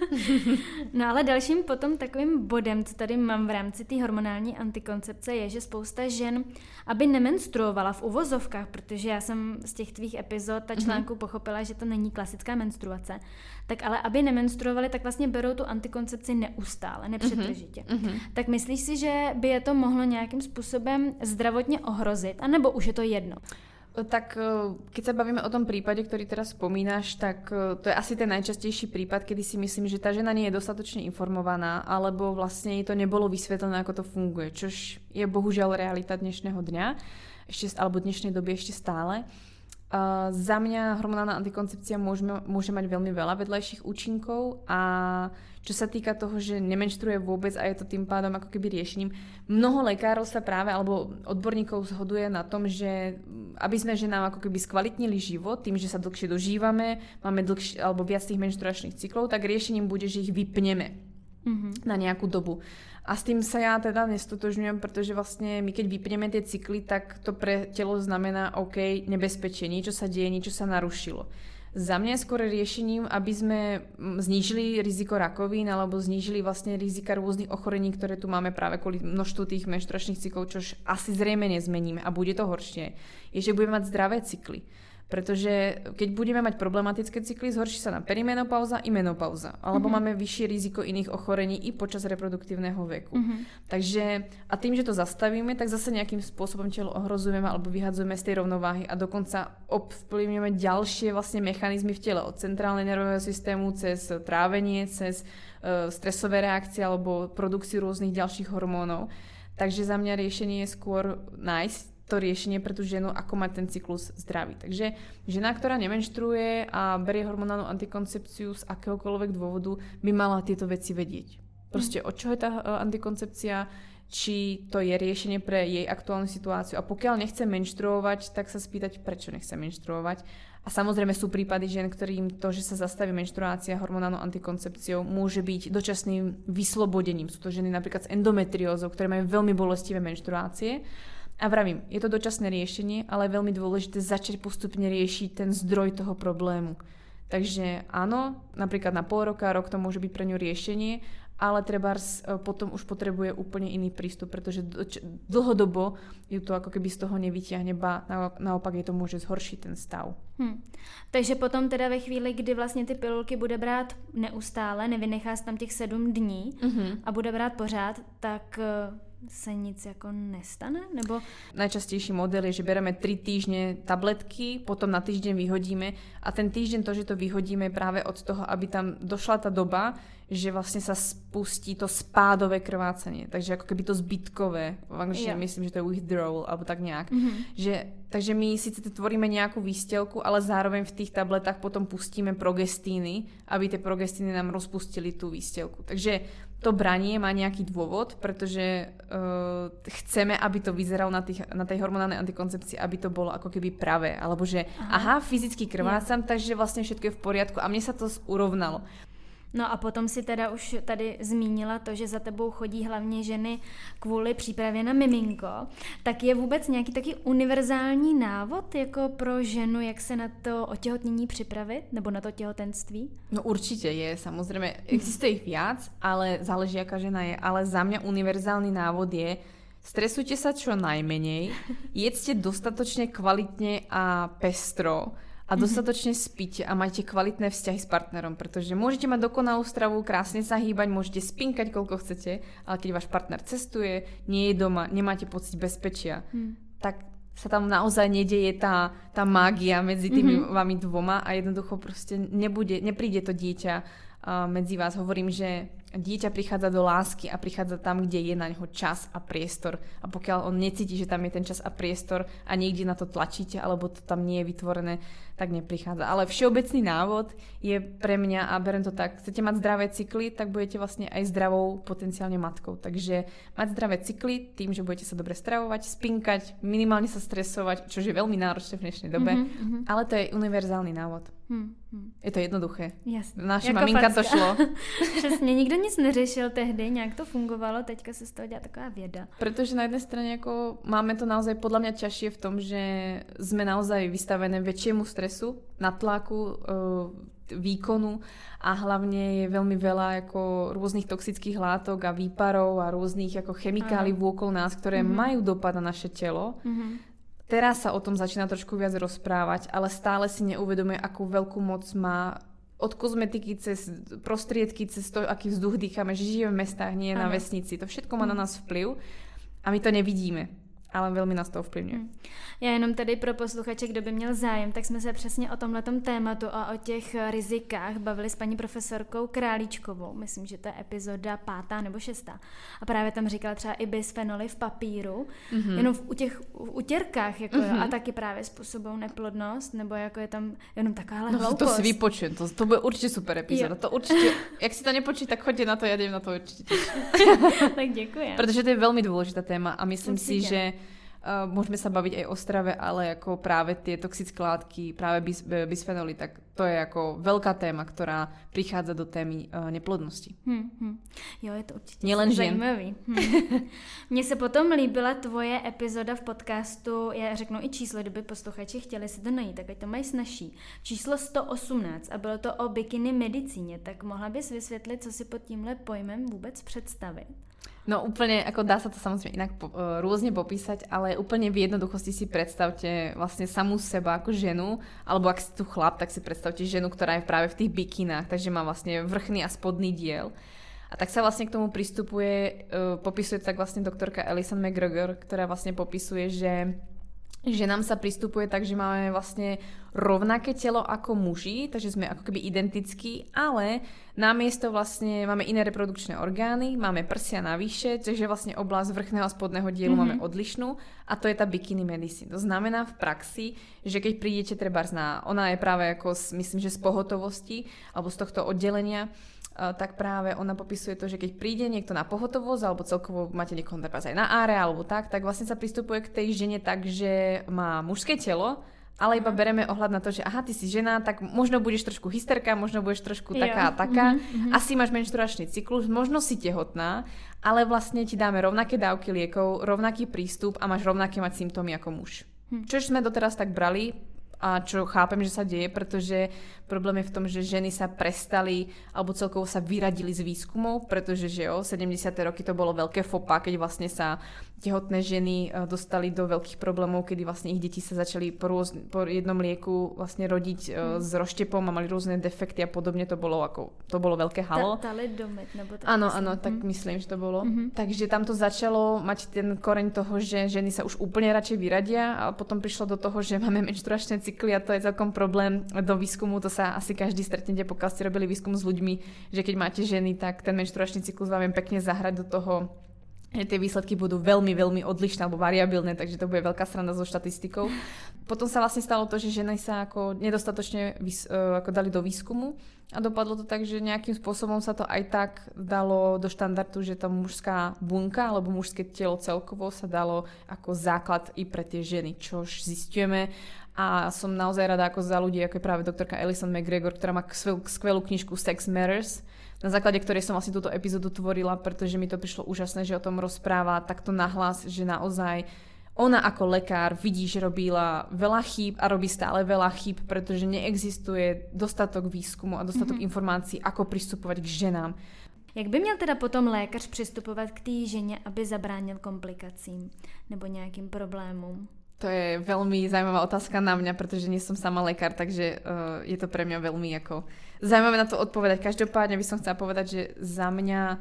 No ale dalším potom takovým bodem, co tady mám v rámci té hormonální antikoncepce, je, že spousta žen, aby nemenstruovala v uvozovkách, protože já jsem z těch tvých epizod a článků pochopila, že to není klasická menstruace, tak ale aby nemenstruovali, tak vlastně berou tu antikoncepci neustále, nepřetržitě. Tak myslíš si, že by je to mohlo nějakým způsobem zdravotně ohrozit, anebo už je to jedno? Tak keď sa bavíme o tom prípade, ktorý teraz spomínaš, tak to je asi ten najčastejší prípad, kedy si myslím, že tá žena nie je dostatočne informovaná, alebo vlastne jej to nebolo vysvetlené, ako to funguje, čož je bohužiaľ realita dnešného dňa, alebo dnešnej doby ešte stále. Za mňa hormonálna antikoncepcia môže mať veľmi veľa vedľajších účinkov a čo sa týka toho, že nemenštruuje vôbec a je to tým pádom ako keby riešením, mnoho lekárov sa práve alebo odborníkov zhoduje na tom, že aby sme ženám ako keby skvalitnili život tým, že sa dlhšie dožívame, máme dlhšie alebo viac tých menštruačných cyklov, tak riešením bude, že ich vypneme na nejakú dobu. A s tým sa ja teda nestotožňujem, pretože vlastne my keď vypneme tie cykly, tak to pre telo znamená OK, nebezpečie, niečo sa deje, niečo sa narušilo. Za mňa je skôr riešením, aby sme znížili riziko rakovín alebo znížili vlastne rizika rôznych ochorení, ktoré tu máme práve kvôli množstvu tých menštruačných cyklov, čož asi zrejme nezmeníme a bude to horšie, je, že budeme mať zdravé cykly. Pretože keď budeme mať problematické cykly, zhorší sa nám perimenopauza i menopauza. Alebo máme vyššie riziko iných ochorení i počas reproduktívneho veku. Takže a tým, že to zastavíme, tak zase nejakým spôsobom telo ohrozujeme alebo vyhadzujeme z tej rovnováhy a dokonca ovplyvňujeme ďalšie vlastne mechanizmy v tele. Od centrálnej nervového systému cez trávenie, cez stresové reakcie alebo produkciu rôznych ďalších hormónov. Takže za mňa riešenie je skôr nájsť to riešenie pre tú ženu, ako mať ten cyklus zdravý. Takže žena, ktorá nemenštruuje a berie hormonálnu antikoncepciu z akéhokoľvek dôvodu, by mala tieto veci vedieť. Proste od čoho je tá antikoncepcia, či to je riešenie pre jej aktuálnu situáciu. A pokiaľ nechce menštruovať, tak sa spýtať, prečo nechce menštruovať. A samozrejme sú prípady žien, ktorým to, že sa zastaví menštruácia hormonálnou antikoncepciou, môže byť dočasným vyslobodením. Sú to ženy napríklad s endometriózou, ktoré majú veľmi bolestivé menštruácie. A vravím, je to dočasné riešenie, ale je veľmi dôležité začať postupne riešiť ten zdroj toho problému. Takže áno, napríklad na pol roka, rok to môže byť pre ňu riešenie, ale trebárs potom už potrebuje úplne iný prístup, pretože dlhodobo ju to ako keby z toho nevyťahne, ba naopak je to môže zhoršiť ten stav. Takže potom teda ve chvíli, kdy vlastně ty pilulky bude brát neustále, nevynechá se tam těch 7 dní a bude brát pořád, tak se nic jako nestane? Nebo... Najčastejší model je, že bereme 3 týždne tabletky, potom na týždeň vyhodíme a ten týždeň to, že to vyhodíme práve od toho, aby tam došla tá doba, že vlastne sa spustí to spádové krvácanie. Takže ako keby to zbytkové, v angličtine myslím, že to je withdrawal, alebo tak nejak. Takže my síce tvoríme nejakú výstelku, ale zároveň v tých tabletách potom pustíme progestíny, aby tie progestíny nám rozpustili tú výstelku. Takže to branie má nejaký dôvod, pretože chceme, aby to vyzeralo na tej hormonálnej antikoncepcii, aby to bolo ako keby pravé. Alebo že fyzicky krvácam, takže vlastne všetko je v poriadku a mne sa to urovnalo. No a potom si teda už tady zmínila to, že za tebou chodí hlavně ženy kvůli přípravě na miminko. Tak je vůbec nějaký taky univerzální návod jako pro ženu, jak se na to otěhotnění připravit? Nebo na to těhotenství? No určite je, samozrejme. Existuje ich viac, ale záleží, aká žena je. Ale za mňa univerzálny návod je: stresujte sa čo najmenej, jedzte dostatočne kvalitne a pestro a dostatočne spíte a majte kvalitné vzťahy s partnerom, pretože môžete mať dokonalú stravu, krásne sa hýbať, môžete spinkať koľko chcete, ale keď váš partner cestuje, nie je doma, nemáte pocit bezpečia, tak sa tam naozaj nedeje tá mágia medzi tými vami dvoma a jednoducho proste nepríde to dieťa medzi vás. Hovorím, že dieťa prichádza do lásky a prichádza tam, kde je na neho čas a priestor. A pokiaľ on necíti, že tam je ten čas a priestor a niekde na to tlačíte, alebo to tam nie je vytvorené, tak neprichádza. Ale všeobecný návod je pre mňa, a berem to tak, chcete mať zdravé cykly, tak budete vlastne aj zdravou potenciálne matkou. Takže mať zdravé cykly tým, že budete sa dobre stravovať, spinkať, minimálne sa stresovať, čo je veľmi náročné v dnešnej dobe, ale to je univerzálny návod. Je to jednoduché. Jasně. Naše jako maminka facka. to šlo. Přesně, nikdo nic neřešil tehdy, nějak to fungovalo, teďka se z toho dělá taková věda. Pretože na jednej strane ako máme to naozaj podľa mňa ťažšie v tom, že sme naozaj vystavené väčšiemu stresu, natlaku, výkonu a hlavne je veľmi veľa ako rôznych toxických látok a výparov a rôznych ako chemikálií vôkol nás, ktoré majú dopad na naše telo. Teraz sa o tom začína trošku viac rozprávať, ale stále si neuvedomuje, akú veľkú moc má od kozmetiky cez prostriedky, cez to, aký vzduch dýchame, že žijeme v mestách, nie na vesnici. To všetko má na nás vplyv a my to nevidíme. Ale velmi nás to ovplyvňuje. Já jenom tady pro posluchače, kdo by měl zájem, tak jsme se přesně o tomhletom tématu a o těch rizikách bavili s paní profesorkou Králíčkovou. Myslím, že to je epizoda 5. nebo 6. A právě tam říkala třeba i bisfenoly v papíru, jenom u těch utěrkách, jako a taky právě způsobují neplodnost, nebo jako je tam jenom takováhle hloupost. To si vypočujem, to bude určitě super epizoda. To určitě, jak si to nepočuť, tak choďte na to, já jdem na to určitě. Tak děkuji. Protože to je velmi důležitá téma a myslím si, že môžeme sa baviť aj o strave, ale ako práve tie toxické látky, práve bisfenoly, tak to je ako veľká téma, ktorá prichádza do témy neplodnosti. Jo, je to určitě zajímavý. Mně se potom líbila tvoje epizoda v podcastu, já řeknu i číslo, kdyby posluchači chtěli si to najít, tak ať to mají snazší. Číslo 118 a bylo to o bikini medicíně, tak mohla bys vysvětlit, co si pod tímhle pojmem vůbec představit? No úplne, ako dá sa to samozrejme inak rôzne popísať, ale úplne v jednoduchosti si predstavte vlastne samú seba ako ženu, alebo ak si tu chlap, tak si predstavte ženu, ktorá je práve v tých bikinách, takže má vlastne vrchný a spodný diel. A tak sa vlastne k tomu pristupuje, popisuje tak vlastne doktorka Alison McGregor, ktorá vlastne popisuje, že ženám sa pristupuje tak, že máme vlastne rovnaké telo ako muži, takže sme ako keby identickí, ale namiesto vlastne máme iné reprodukčné orgány, máme prsia navyše, takže vlastne oblasť vrchného a spodného dielu máme odlišnú a to je tá bikini medicine. To znamená v praxi, že keď prídete trebárs ona je práve ako myslím, že z pohotovosti alebo z tohto oddelenia, tak práve ona popisuje to, že keď príde niekto na pohotovosť alebo celkovo máte niekoho aj na áre alebo tak vlastne sa pristupuje k tej žene tak, že má mužské telo ale iba bereme ohľad na to, že aha, ty si žena, tak možno budeš trošku hysterka, možno budeš trošku taká a taká, asi máš menštruačný cyklus, možno si tehotná, ale vlastne ti dáme rovnaké dávky liekov, rovnaký prístup a máš rovnaké mať symptómy ako muž. Čož sme doteraz tak brali a čo chápem, že sa deje, pretože problém je v tom, že ženy sa prestali alebo celkovo sa vyradili z výskumov, pretože že 70. roky to bolo veľké fopa, keď vlastne sa tehotné ženy dostali do veľkých problémov, kedy vlastne ich deti sa začali po jednom lieku vlastne rodiť s roštepom a mali rôzne defekty a podobne, to bolo veľké halo. Talidomid, nebo tak. Áno, tak myslím, že to bolo. Takže tam to začalo mať ten koreň toho, že ženy sa už úplne radšej vyradia a potom prišlo do toho, že máme menštruačné cykly a to je celkom problém do výskumu, to sa asi každý stretnete, pokiaľ ste robili výskum s ľuďmi, že keď máte ženy, tak ten menštruačný cyklus vám viem pekne zahrať do toho, že tie výsledky budú veľmi, veľmi odlišné alebo variabilné, takže to bude veľká sranda so štatistikou. Potom sa vlastne stalo to, že ženy sa ako nedostatočne ako dali do výskumu a dopadlo to tak, že nejakým spôsobom sa to aj tak dalo do štandardu, že tá mužská bunka alebo mužské telo celkovo sa dalo ako základ i pre tie ženy, čož zistujeme. A som naozaj rada ako za ľudí, ako je práve doktorka Alison McGregor, ktorá má skvelú knižku Sex Matters, na základe ktorej som vlastne túto epizódu tvorila, pretože mi to prišlo úžasné, že o tom rozpráva takto nahlas, že naozaj ona ako lekár vidí, že robila veľa chýb a robí stále veľa chýb, pretože neexistuje dostatok výskumu a dostatok informácií, ako pristupovať k ženám. Jak by měl teda potom lékař přistupovat k té ženě, aby zabránil komplikacím nebo nějakým problémům? To je veľmi zaujímavá otázka na mňa, pretože nie som sama lekár, takže je to pre mňa veľmi ako zaujímavé na to odpovedať. Každopádne by som chcela povedať, že za mňa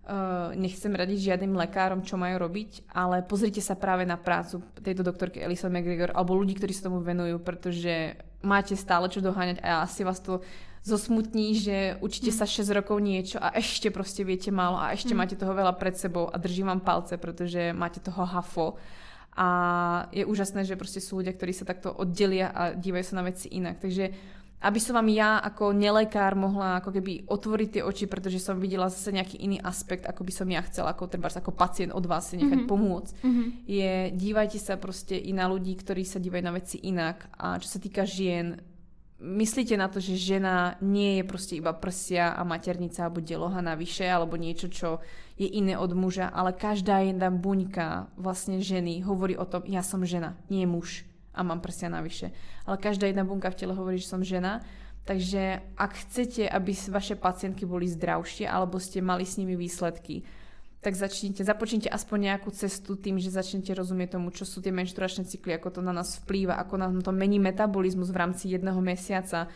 nechcem radiť žiadnym lekárom, čo majú robiť, ale pozrite sa práve na prácu tejto doktorky Alison McGregor alebo ľudí, ktorí sa tomu venujú, pretože máte stále čo doháňať a asi vás to zosmutní, že učíte sa 6 rokov niečo a ešte proste viete málo a ešte máte toho veľa pred sebou a držím vám palce, pretože máte toho hafo. A je úžasné, že proste sú ľudia, ktorí sa takto oddelia a dívajú sa na veci inak. Takže aby som vám ja ako nelekár mohla ako keby otvoriť tie oči, pretože som videla zase nejaký iný aspekt, ako by som ja chcela, ako pacient od vás si nechať pomôcť, je dívajte sa proste i na ľudí, ktorí sa dívajú na veci inak. A čo sa týka žien, myslíte na to, že žena nie je proste iba prsia a maternica alebo deloha navyše alebo niečo, čo je iné od muža, ale každá jedna buňka vlastne ženy hovorí o tom, ja som žena, nie muž a mám prsia navyše. Ale každá jedna bunka v tele hovorí, že som žena. Takže ak chcete, aby vaše pacientky boli zdravšie alebo ste mali s nimi výsledky, tak započnite aspoň nejakú cestu tým, že začnete rozumieť tomu, čo sú tie menštruačné cykly, ako to na nás vplýva, ako nám to mení metabolizmus v rámci jedného mesiaca.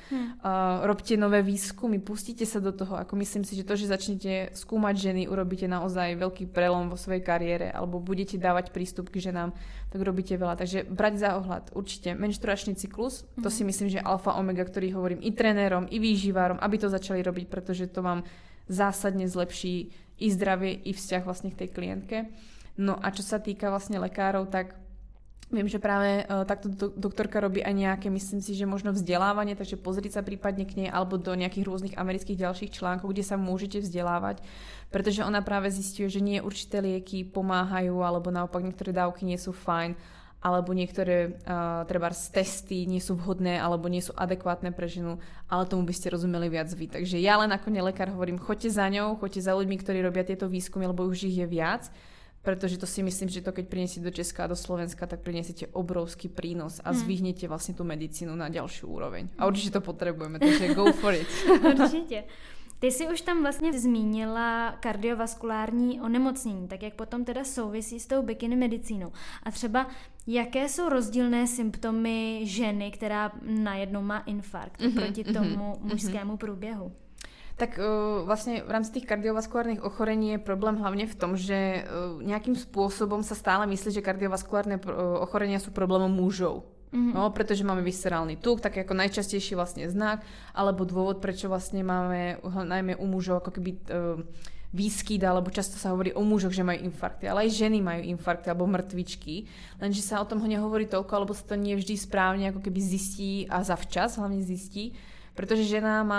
Robte nové výskumy, pustite sa do toho. Ako myslím si, že to, že začnete skúmať ženy, urobíte naozaj veľký prelom vo svojej kariére alebo budete dávať prístup k ženám, tak robíte veľa. Takže brať za ohľad určite menštruačný cyklus, to si myslím, že alfa omega, ktorý hovorím i trénerom, i výživárom, aby to začali robiť, pretože to vám zásadne zlepší i zdravie, i vzťah vlastne k tej klientke. No a čo sa týka vlastne lekárov, tak viem, že práve takto doktorka robí aj nejaké, myslím si, že možno vzdelávanie, takže pozrieť sa prípadne k nej alebo do nejakých rôznych amerických ďalších článkov, kde sa môžete vzdelávať, pretože ona práve zisťuje, že nie určité lieky pomáhajú alebo naopak niektoré dávky nie sú fajn, alebo niektoré trebárs testy nie sú vhodné alebo nie sú adekvátne pre ženu, ale tomu by ste rozumeli viac vy. Takže ja len ako nelekár hovorím, choďte za ňou, choďte za ľuďmi, ktorí robia tieto výskumy, lebo už ich je viac, pretože to si myslím, že to keď prinesiete do Česka a do Slovenska, tak prinesiete obrovský prínos a zvihnete vlastne tú medicínu na ďalšiu úroveň. A určite to potrebujeme, takže go for it. Určitě. Ty jsi už tam vlastně zmínila kardiovaskulární onemocnění, tak jak potom teda souvisí s tou bikini medicínou. A třeba jaké jsou rozdílné symptomy ženy, která najednou má infarkt proti tomu mužskému průběhu? Tak vlastne v rámci tých kardiovaskulárnych ochorení je problém hlavne v tom, že nejakým spôsobom sa stále myslí, že kardiovaskulárne ochorenia sú problémom mužov. No, pretože máme viscerálny tuk, tak ako najčastejší vlastne znak, alebo dôvod, prečo vlastne máme najmä u mužov ako keby výskyt, alebo často sa hovorí o mužoch, že majú infarkty, ale aj ženy majú infarkty alebo mŕtvičky, lenže sa o tom nehovorí toľko, alebo sa to nie vždy správne ako keby zistí a zavčas hlavne zistí, pretože žena má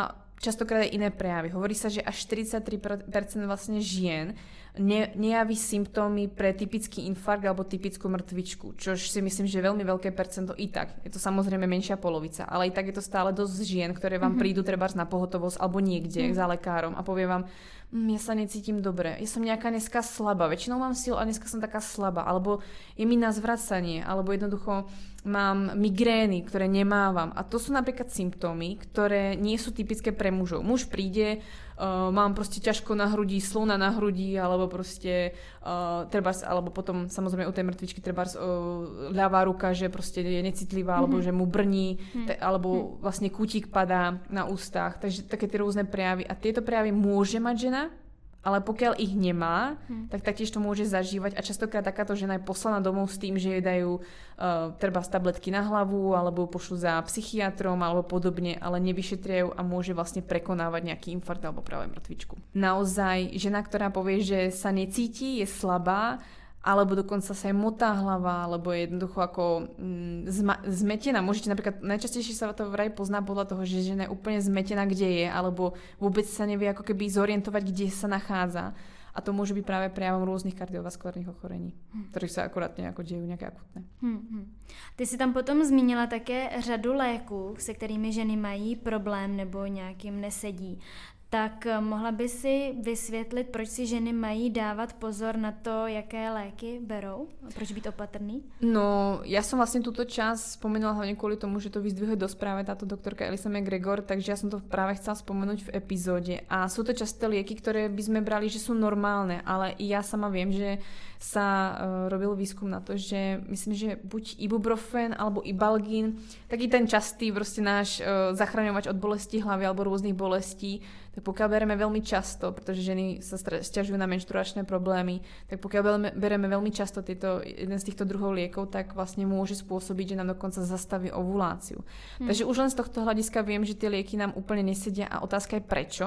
častokrát aj iné prejavy. Hovorí sa, že až 43% vlastne žien nejaví symptómy pre typický infarkt alebo typickú mŕtvičku, čož si myslím, že je veľmi veľké percento i tak. Je to samozrejme menšia polovica, ale i tak je to stále dosť žien, ktoré vám prídu trebárs na pohotovosť alebo niekde za lekárom a povie vám, ja sa necítim dobre, ja som nejaká dneska slabá, väčšinou mám silu a dneska som taká slabá, alebo je mi na zvracanie, alebo jednoducho mám migrény, ktoré nemávam. A to sú napríklad symptómy, ktoré nie sú typické pre mužov. Muž príde, mám proste ťažko na hrudi, slona na hrudi, alebo proste trebárs, alebo potom samozrejme u tej mŕtvičky trebárs ľavá ruka, že proste je necitlivá, alebo že mu brní, alebo vlastne kútik padá na ústach. Takže také tie rôzne prejavy. A tieto prejavy môže mať žena, ale pokiaľ ich nemá, tak taktiež to môže zažívať a častokrát takáto žena je poslaná domov s tým, že jej dajú trebárs tabletky na hlavu alebo pošlu za psychiatrom alebo podobne, ale nevyšetria ju a môže vlastne prekonávať nejaký infarkt alebo práve mŕtvičku. Naozaj žena, ktorá povie, že sa necíti, je slabá, alebo dokonca sa jej motá hlava, alebo je jednoducho ako zmetená. Môžete napríklad, najčastejšie sa to vraj pozná podľa toho, že žena je úplne zmetená, kde je, alebo vôbec sa nevie ako keby zorientovať, kde sa nachádza. A to môže byť práve prejavom rôznych kardiovaskulárnych ochorení, ktorých sa akurát nejako dejú nejaké akutné. Ty si tam potom zmínila také řadu léků, se kterými ženy mají problém nebo nějakým nesedí. Tak mohla by si vysvětlit, proč si ženy mají dávat pozor na to, jaké léky berou? Proč být opatrný? No, ja som vlastne túto časť spomenula hlavne kvôli tomu, že to vyzdvihuje do správe táto doktorka Elisa McGregor, takže ja som to práve chcela spomenúť v epizóde. A sú to často lieky, ktoré by sme brali, že sú normálne, ale i ja sama viem, že sa robil výskum na to, že myslím, že buď ibuprofen alebo ibalgín, taký ten častý proste náš zachraňovač od bolesti hlavy alebo rôznych bolestí, tak pokiaľ bereme veľmi často, pretože ženy sa sťažujú na menštruačné problémy, tak pokiaľ bereme veľmi často jeden z týchto druhov liekov, tak vlastne môže spôsobiť, že nám dokonca zastaví ovuláciu. Takže už len z tohto hľadiska viem, že tie lieky nám úplne nesedia a otázka je prečo.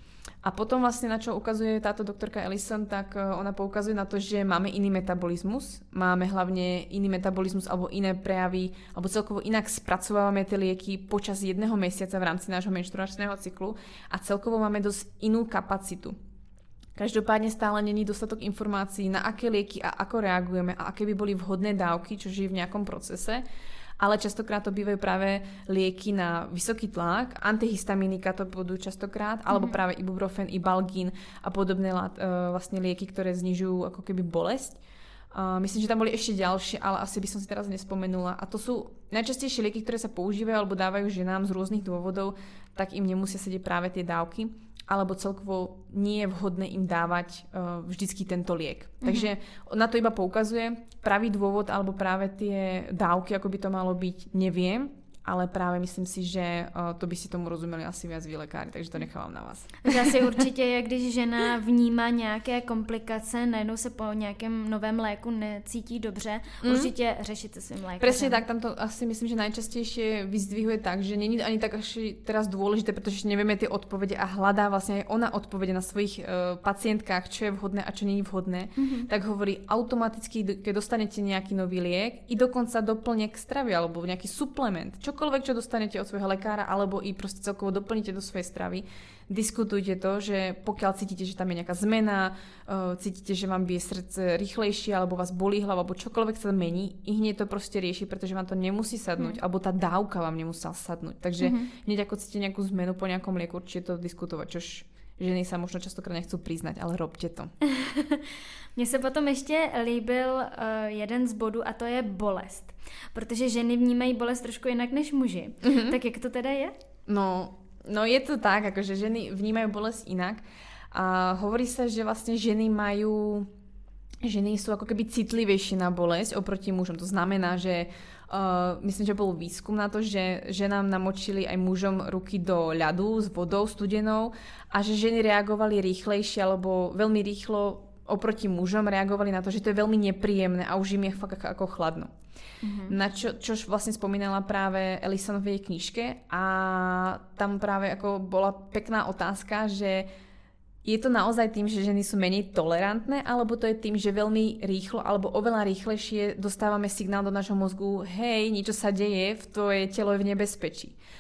A potom vlastne na čo ukazuje táto doktorka Ellison, tak ona poukazuje na to, že máme iný metabolizmus, máme hlavne iný metabolizmus alebo iné prejavy, alebo celkovo inak spracovávame tie lieky počas 1 mesiaca v rámci nášho menštruačného cyklu a celkovo máme dosť inú kapacitu. Každopádne stále není dostatok informácií, na aké lieky a ako reagujeme a aké by boli vhodné dávky, čo je v nejakom procese. Ale častokrát to bývajú práve lieky na vysoký tlak, antihistaminika to budú častokrát, alebo práve ibuprofen, ibalgín a podobné vlastne lieky, ktoré znižujú ako keby bolesť. Myslím, že tam boli ešte ďalšie, ale asi by som si teraz nespomenula. A to sú najčastejšie lieky, ktoré sa používajú alebo dávajú ženám z rôznych dôvodov, tak im nemusia sedieť práve tie dávky, alebo celkovo nie je vhodné im dávať vždycky tento liek. Takže na to iba poukazuje. Pravý dôvod alebo práve tie dávky, ako by to malo byť, neviem, ale práve myslím si, že to by si tomu rozumeli asi viac vy lekári, takže to nechávám na vás. Takže asi určitě je, když žena vnímá nějaké komplikace, najednou se po nějakém novém léku necítí dobře, určitě řešit se svým lékařem. Presne tak, tam to asi myslím, že najčastejšie vyzdvihuje tak, že není ani tak až teraz dôležité, pretože nevieme tie odpovede a hľadá vlastne aj ona odpovede na svojich pacientkách, čo je vhodné a čo nie je vhodné, tak hovorí automaticky, keď dostanete nejaký nový liek i dokonca doplňek stravy alebo nejaký suplement, čokoľvek, čo dostanete od svojho lekára, alebo i proste celkovo doplníte do svojej stravy, diskutujte to, že pokiaľ cítite, že tam je nejaká zmena, cítite, že vám bije srdce rýchlejšie, alebo vás bolí hlava, alebo čokoľvek sa mení, i hneď to proste rieši, pretože vám to nemusí sadnúť, alebo tá dávka vám nemusela sadnúť. Takže hneď ako cítite nejakú zmenu po nejakom lieku, určite to diskutovať, čož ženy sa možno častokrát nechcú priznať, ale robte to. Mně se potom ještě líbil jeden z bodů a to je bolest. Protože ženy vnímají bolest trošku jinak než muži. Tak jak to teda je? No je to tak, akože ženy vnímajú bolesť inak. A hovorí sa, že vlastne ženy sú ako keby citlivejšie na bolesť oproti mužom. To znamená, že myslím, že bol výskum na to, že ženám namočili aj mužom ruky do ľadu s vodou studenou a že ženy reagovali rýchlejšie alebo veľmi rýchlo oproti mužom reagovali na to, že to je veľmi nepríjemné a už im je fakt ako chladno. Na čož vlastne spomínala práve Ellison v jej knižke a tam práve ako bola pekná otázka, že je to naozaj tým, že ženy sú menej tolerantné, alebo to je tým, že veľmi rýchlo alebo oveľa rýchlejšie dostávame signál do nášho mozgu, hej, niečo sa deje, tvoje telo je v nebezpečí.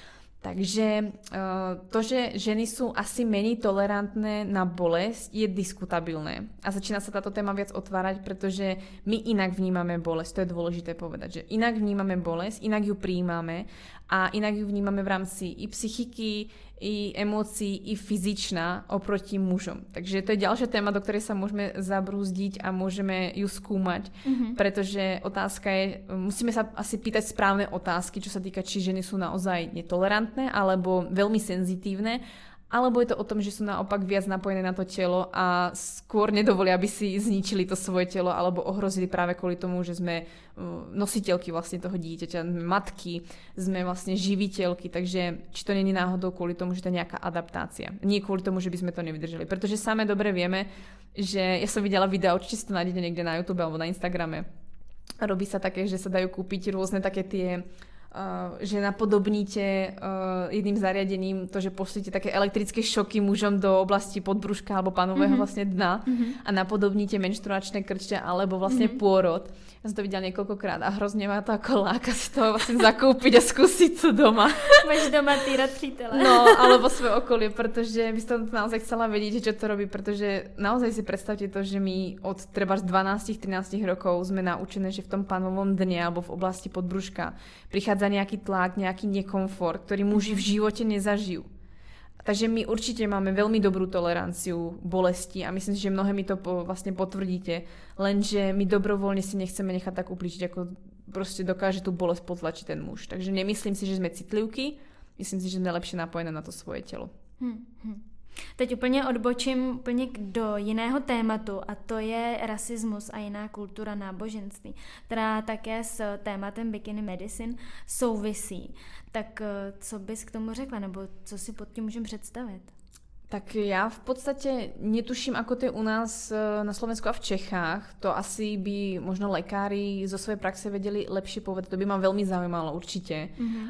Takže to, že ženy sú asi menej tolerantné na bolesť, je diskutabilné. A začína sa táto téma viac otvárať, pretože my inak vnímame bolesť. To je dôležité povedať, že inak vnímame bolesť, inak ju prijímame a inak ju vnímame v rámci i psychiky, i emócií, i fyzičná oproti mužom. Takže to je ďalšia téma, do ktorej sa môžeme zabrúzdiť a môžeme ju skúmať, pretože otázka je, musíme sa asi pýtať správne otázky, čo sa týka, či ženy sú naozaj netolerantné alebo veľmi senzitívne, alebo je to o tom, že sú naopak viac napojené na to telo a skôr nedovolia, aby si zničili to svoje telo alebo ohrozili práve kvôli tomu, že sme nositeľky vlastne toho dieťaťa, matky, sme vlastne živiteľky, takže či to není náhodou kvôli tomu, že to je nejaká adaptácia. Nie kvôli tomu, že by sme to nevydržali, pretože same dobre vieme, že ja som videla videa, určite si to nájdete niekde na YouTube alebo na Instagrame. Robí sa také, že sa dajú kúpiť rôzne také tie že napodobníte jedným zariadením to, že pošlete také elektrické šoky mužom do oblasti podbruška alebo panového vlastne dna a napodobníte menštruačné krče alebo vlastne pôrod. Ja som to videla niekoľkokrát a hrozne ma to ako láka si to vlastne zakúpiť a skúsiť to doma. Máš doma týrať přítele. No, alebo svoje okolie, pretože by som to naozaj chcela vedieť, čo to robí, pretože naozaj si predstavte to, že my od treba 12-13 rokov sme naučené, že v tom panovom dne alebo v oblasti podbruška prichádza nejaký tlak, nejaký nekomfort, ktorý muži v živote nezažijú. Takže my určite máme veľmi dobrú toleranciu bolesti a myslím si, že mnohé mi to vlastne potvrdíte, lenže my dobrovoľne si nechceme nechať tak ublížiť, ako proste dokáže tú bolesť potlačiť ten muž. Takže nemyslím si, že sme citlivky, myslím si, že sme lepšie napojené na to svoje telo. Teď úplně odbočím úplně do jiného tématu a to je rasismus a jiná kultura náboženství, která také s tématem bikini medicine souvisí. Tak co bys k tomu řekla, nebo co si pod tím můžeme představit? Tak ja v podstate netuším, ako to je u nás na Slovensku a v Čechách. To asi by možno lekári zo svojej praxe vedeli lepšie povedať. To by ma veľmi zaujímalo určite.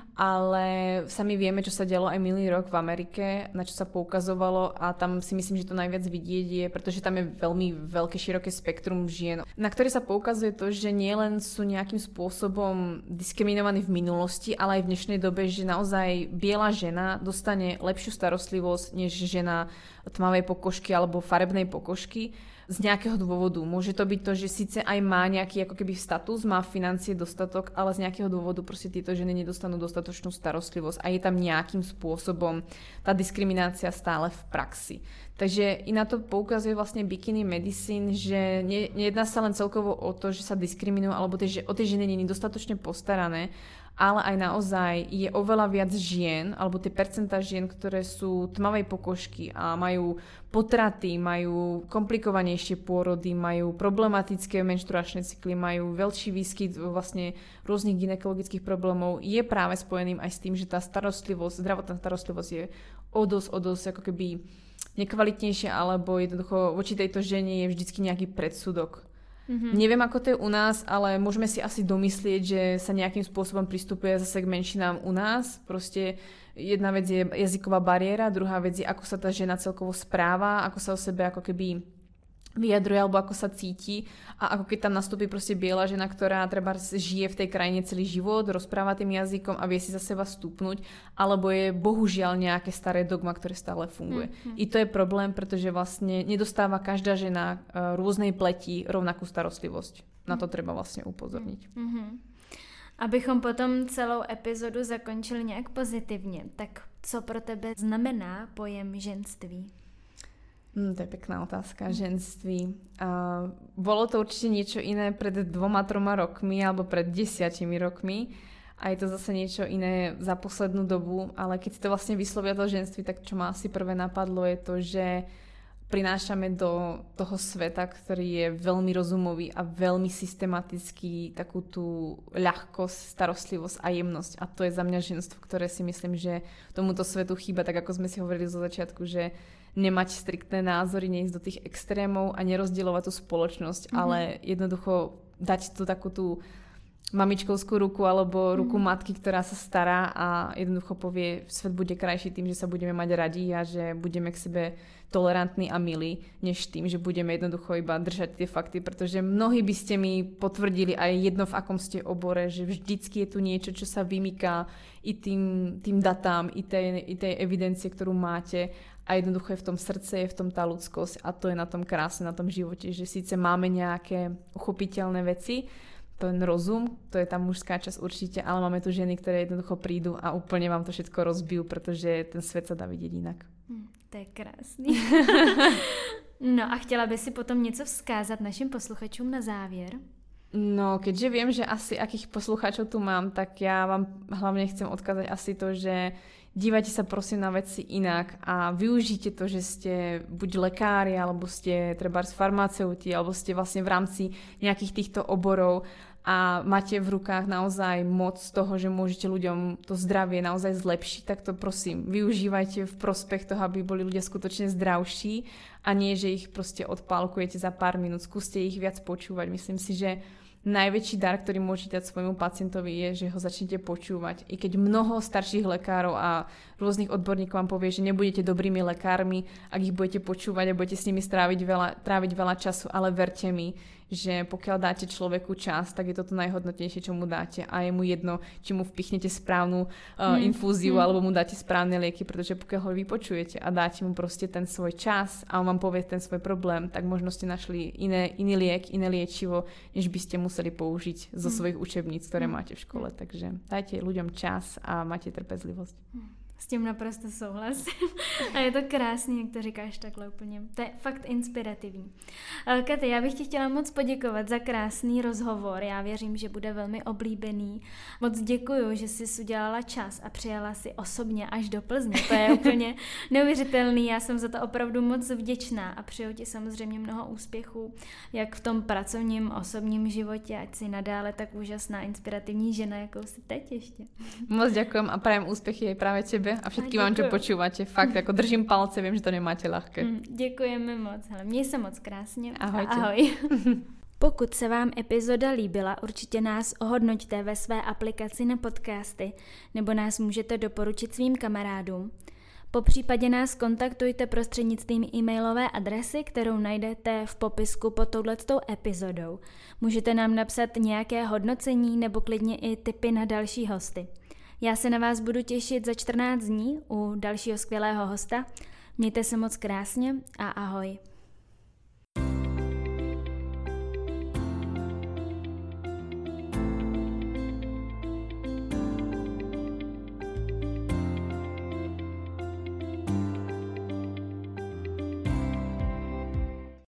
Ale sami vieme, čo sa dialo aj minulý rok v Amerike, na čo sa poukazovalo a tam si myslím, že to najviac vidieť je, pretože tam je veľmi veľké, široké spektrum žien, na ktoré sa poukazuje to, že nielen sú nejakým spôsobom diskriminovaní v minulosti, ale aj v dnešnej dobe, že naozaj biela žena dostane lepšiu starostlivosť než žena tmavej pokožky alebo farebnej pokožky z nejakého dôvodu. Môže to byť to, že síce aj má nejaký ako keby status, má financie dostatok, ale z nejakého dôvodu proste tieto ženy nedostanú dostatočnú starostlivosť a je tam nejakým spôsobom tá diskriminácia stále v praxi. Takže i na to poukazuje vlastne bikini medicine, že nejedná sa len celkovo o to, že sa diskriminujú alebo o tie ženy nie je dostatočne postarané, ale aj naozaj je oveľa viac žien, alebo tie percentá žien, ktoré sú tmavej pokožky a majú potraty, majú komplikovanejšie pôrody, majú problematické menštruačné cykly, majú veľší výskyt vlastne rôznych gynekologických problémov, je práve spojeným aj s tým, že tá starostlivosť, zdravotná starostlivosť je o dosť ako keby nekvalitnejšia, alebo jednoducho voči tejto žene je vždycky nejaký predsudok. Neviem, ako to je u nás, ale môžeme si asi domyslieť, že sa nejakým spôsobom pristupuje zase k menšinám u nás. Proste jedna vec je jazyková bariéra, druhá vec je, ako sa tá žena celkovo správa, ako sa o sebe ako keby vyjadruje alebo ako sa cíti a ako keď tam nastúpi proste biela žena, ktorá treba žije v tej krajine celý život, rozpráva tým jazykom a vie si za seba stúpnuť, alebo je bohužiaľ nejaké staré dogma, ktoré stále funguje. I to je problém, pretože vlastne nedostáva každá žena rôznej pleti rovnakú starostlivosť. Na to treba vlastne upozorniť. Abychom potom celou epizodu zakončili nějak pozitivně, tak co pro tebe znamená pojem ženství? To je pekná otázka, ženství. Bolo to určite niečo iné pred 2-3 rokmi alebo pred 10 rokmi a je to zase niečo iné za poslednú dobu, ale keď si to vlastne vyslovia to ženství, tak čo ma asi prvé napadlo je to, že prinášame do toho sveta, ktorý je veľmi rozumový a veľmi systematický, takú tú ľahkosť, starostlivosť a jemnosť. A to je za mňa ženstvo, ktoré si myslím, že tomuto svetu chýba, tak ako sme si hovorili zo začiatku, že nemať striktné názory, neísť do tých extrémov a nerozdielovať tú spoločnosť, ale jednoducho dať tú takú tú mamičkovskú ruku alebo ruku matky, ktorá sa stará a jednoducho povie, svet bude krajší tým, že sa budeme mať radi a že budeme k sebe tolerantní a milí, než tým, že budeme jednoducho iba držať tie fakty, pretože mnohí by ste mi potvrdili aj jedno v akom ste obore, že vždycky je tu niečo, čo sa vymyká i tým datám, i tej evidencie, ktorú máte a jednoducho je v tom srdce, je v tom tá ľudskosť a to je na tom krásne, na tom živote, že síce máme nejaké uchopiteľné veci, ten rozum, to je tá mužská časť určite, ale máme tu ženy, ktoré jednoducho prídu a úplne vám to všetko rozbijú, pretože ten svet sa dá vidieť inak. To je krásný. No a chtěla by si potom něco vzkázat našim posluchačům na závěr? No, keďže viem, že asi akých poslucháčov tu mám, tak ja vám hlavne chcem odkázať asi to, že dívajte sa prosím na veci inak a využite to, že ste buď lekári, alebo ste trebárs farmaceuti, alebo ste vlastne v rámci nejakých týchto oborov a máte v rukách naozaj moc toho, že môžete ľuďom to zdravie naozaj zlepšiť, tak to prosím, využívajte v prospech toho, aby boli ľudia skutočne zdravší a nie, že ich proste odpálkujete za pár minút. Skúste ich viac počúvať. Myslím si, že najväčší dar, ktorý môžete dať svojmu pacientovi je, že ho začnete počúvať. I keď mnoho starších lekárov a rôznych odborníkov vám povie, že nebudete dobrými lekármi, ak ich budete počúvať a budete s nimi tráviť veľa času, ale verte mi, že pokiaľ dáte človeku čas, tak je to to najhodnotnejšie, čo mu dáte a je mu jedno, či mu vpichnete správnu infúziu alebo mu dáte správne lieky, pretože pokiaľ ho vypočujete a dáte mu proste ten svoj čas a on vám povie ten svoj problém, tak možno ste našli iný liek, iné liečivo, než by ste museli použiť zo svojich učebníc, ktoré máte v škole. Takže dajte ľuďom čas a máte trpezlivosť. S tím naprosto souhlasím. A je to krásný, jak to říkáš takhle úplně. To je fakt inspirativní. Katy, já bych ti chtěla moc poděkovat za krásný rozhovor. Já věřím, že bude velmi oblíbený. Moc děkuju, že jsi udělala čas a přijala si osobně až do Plzně. To je úplně neuvěřitelný. Já jsem za to opravdu moc vděčná a přeju ti samozřejmě mnoho úspěchů, jak v tom pracovním, osobním životě, ať si nadále tak úžasná, inspirativní žena, jakou jsi teď ještě. Moc ďakujem a prajem úspěchy aj práve tebe a všetkým vám, čo počúvate. Fakt, ako držím palce, viem, že to nemáte ľahké. Děkujeme moc. Hele, měj se moc krásně. Ahojte. Ahoj. Pokud se vám epizoda líbila, určitě nás ohodnoťte ve své aplikaci na podcasty, nebo nás můžete doporučit svým kamarádům. Popřípadě nás kontaktujte prostřednictvím e-mailové adresy, kterou najdete v popisku pod touhletou epizodou. Můžete nám napsat nějaké hodnocení nebo klidně i tipy na další hosty. Já se na vás budu těšit za 14 dní u dalšího skvělého hosta. Mějte se moc krásně a ahoj.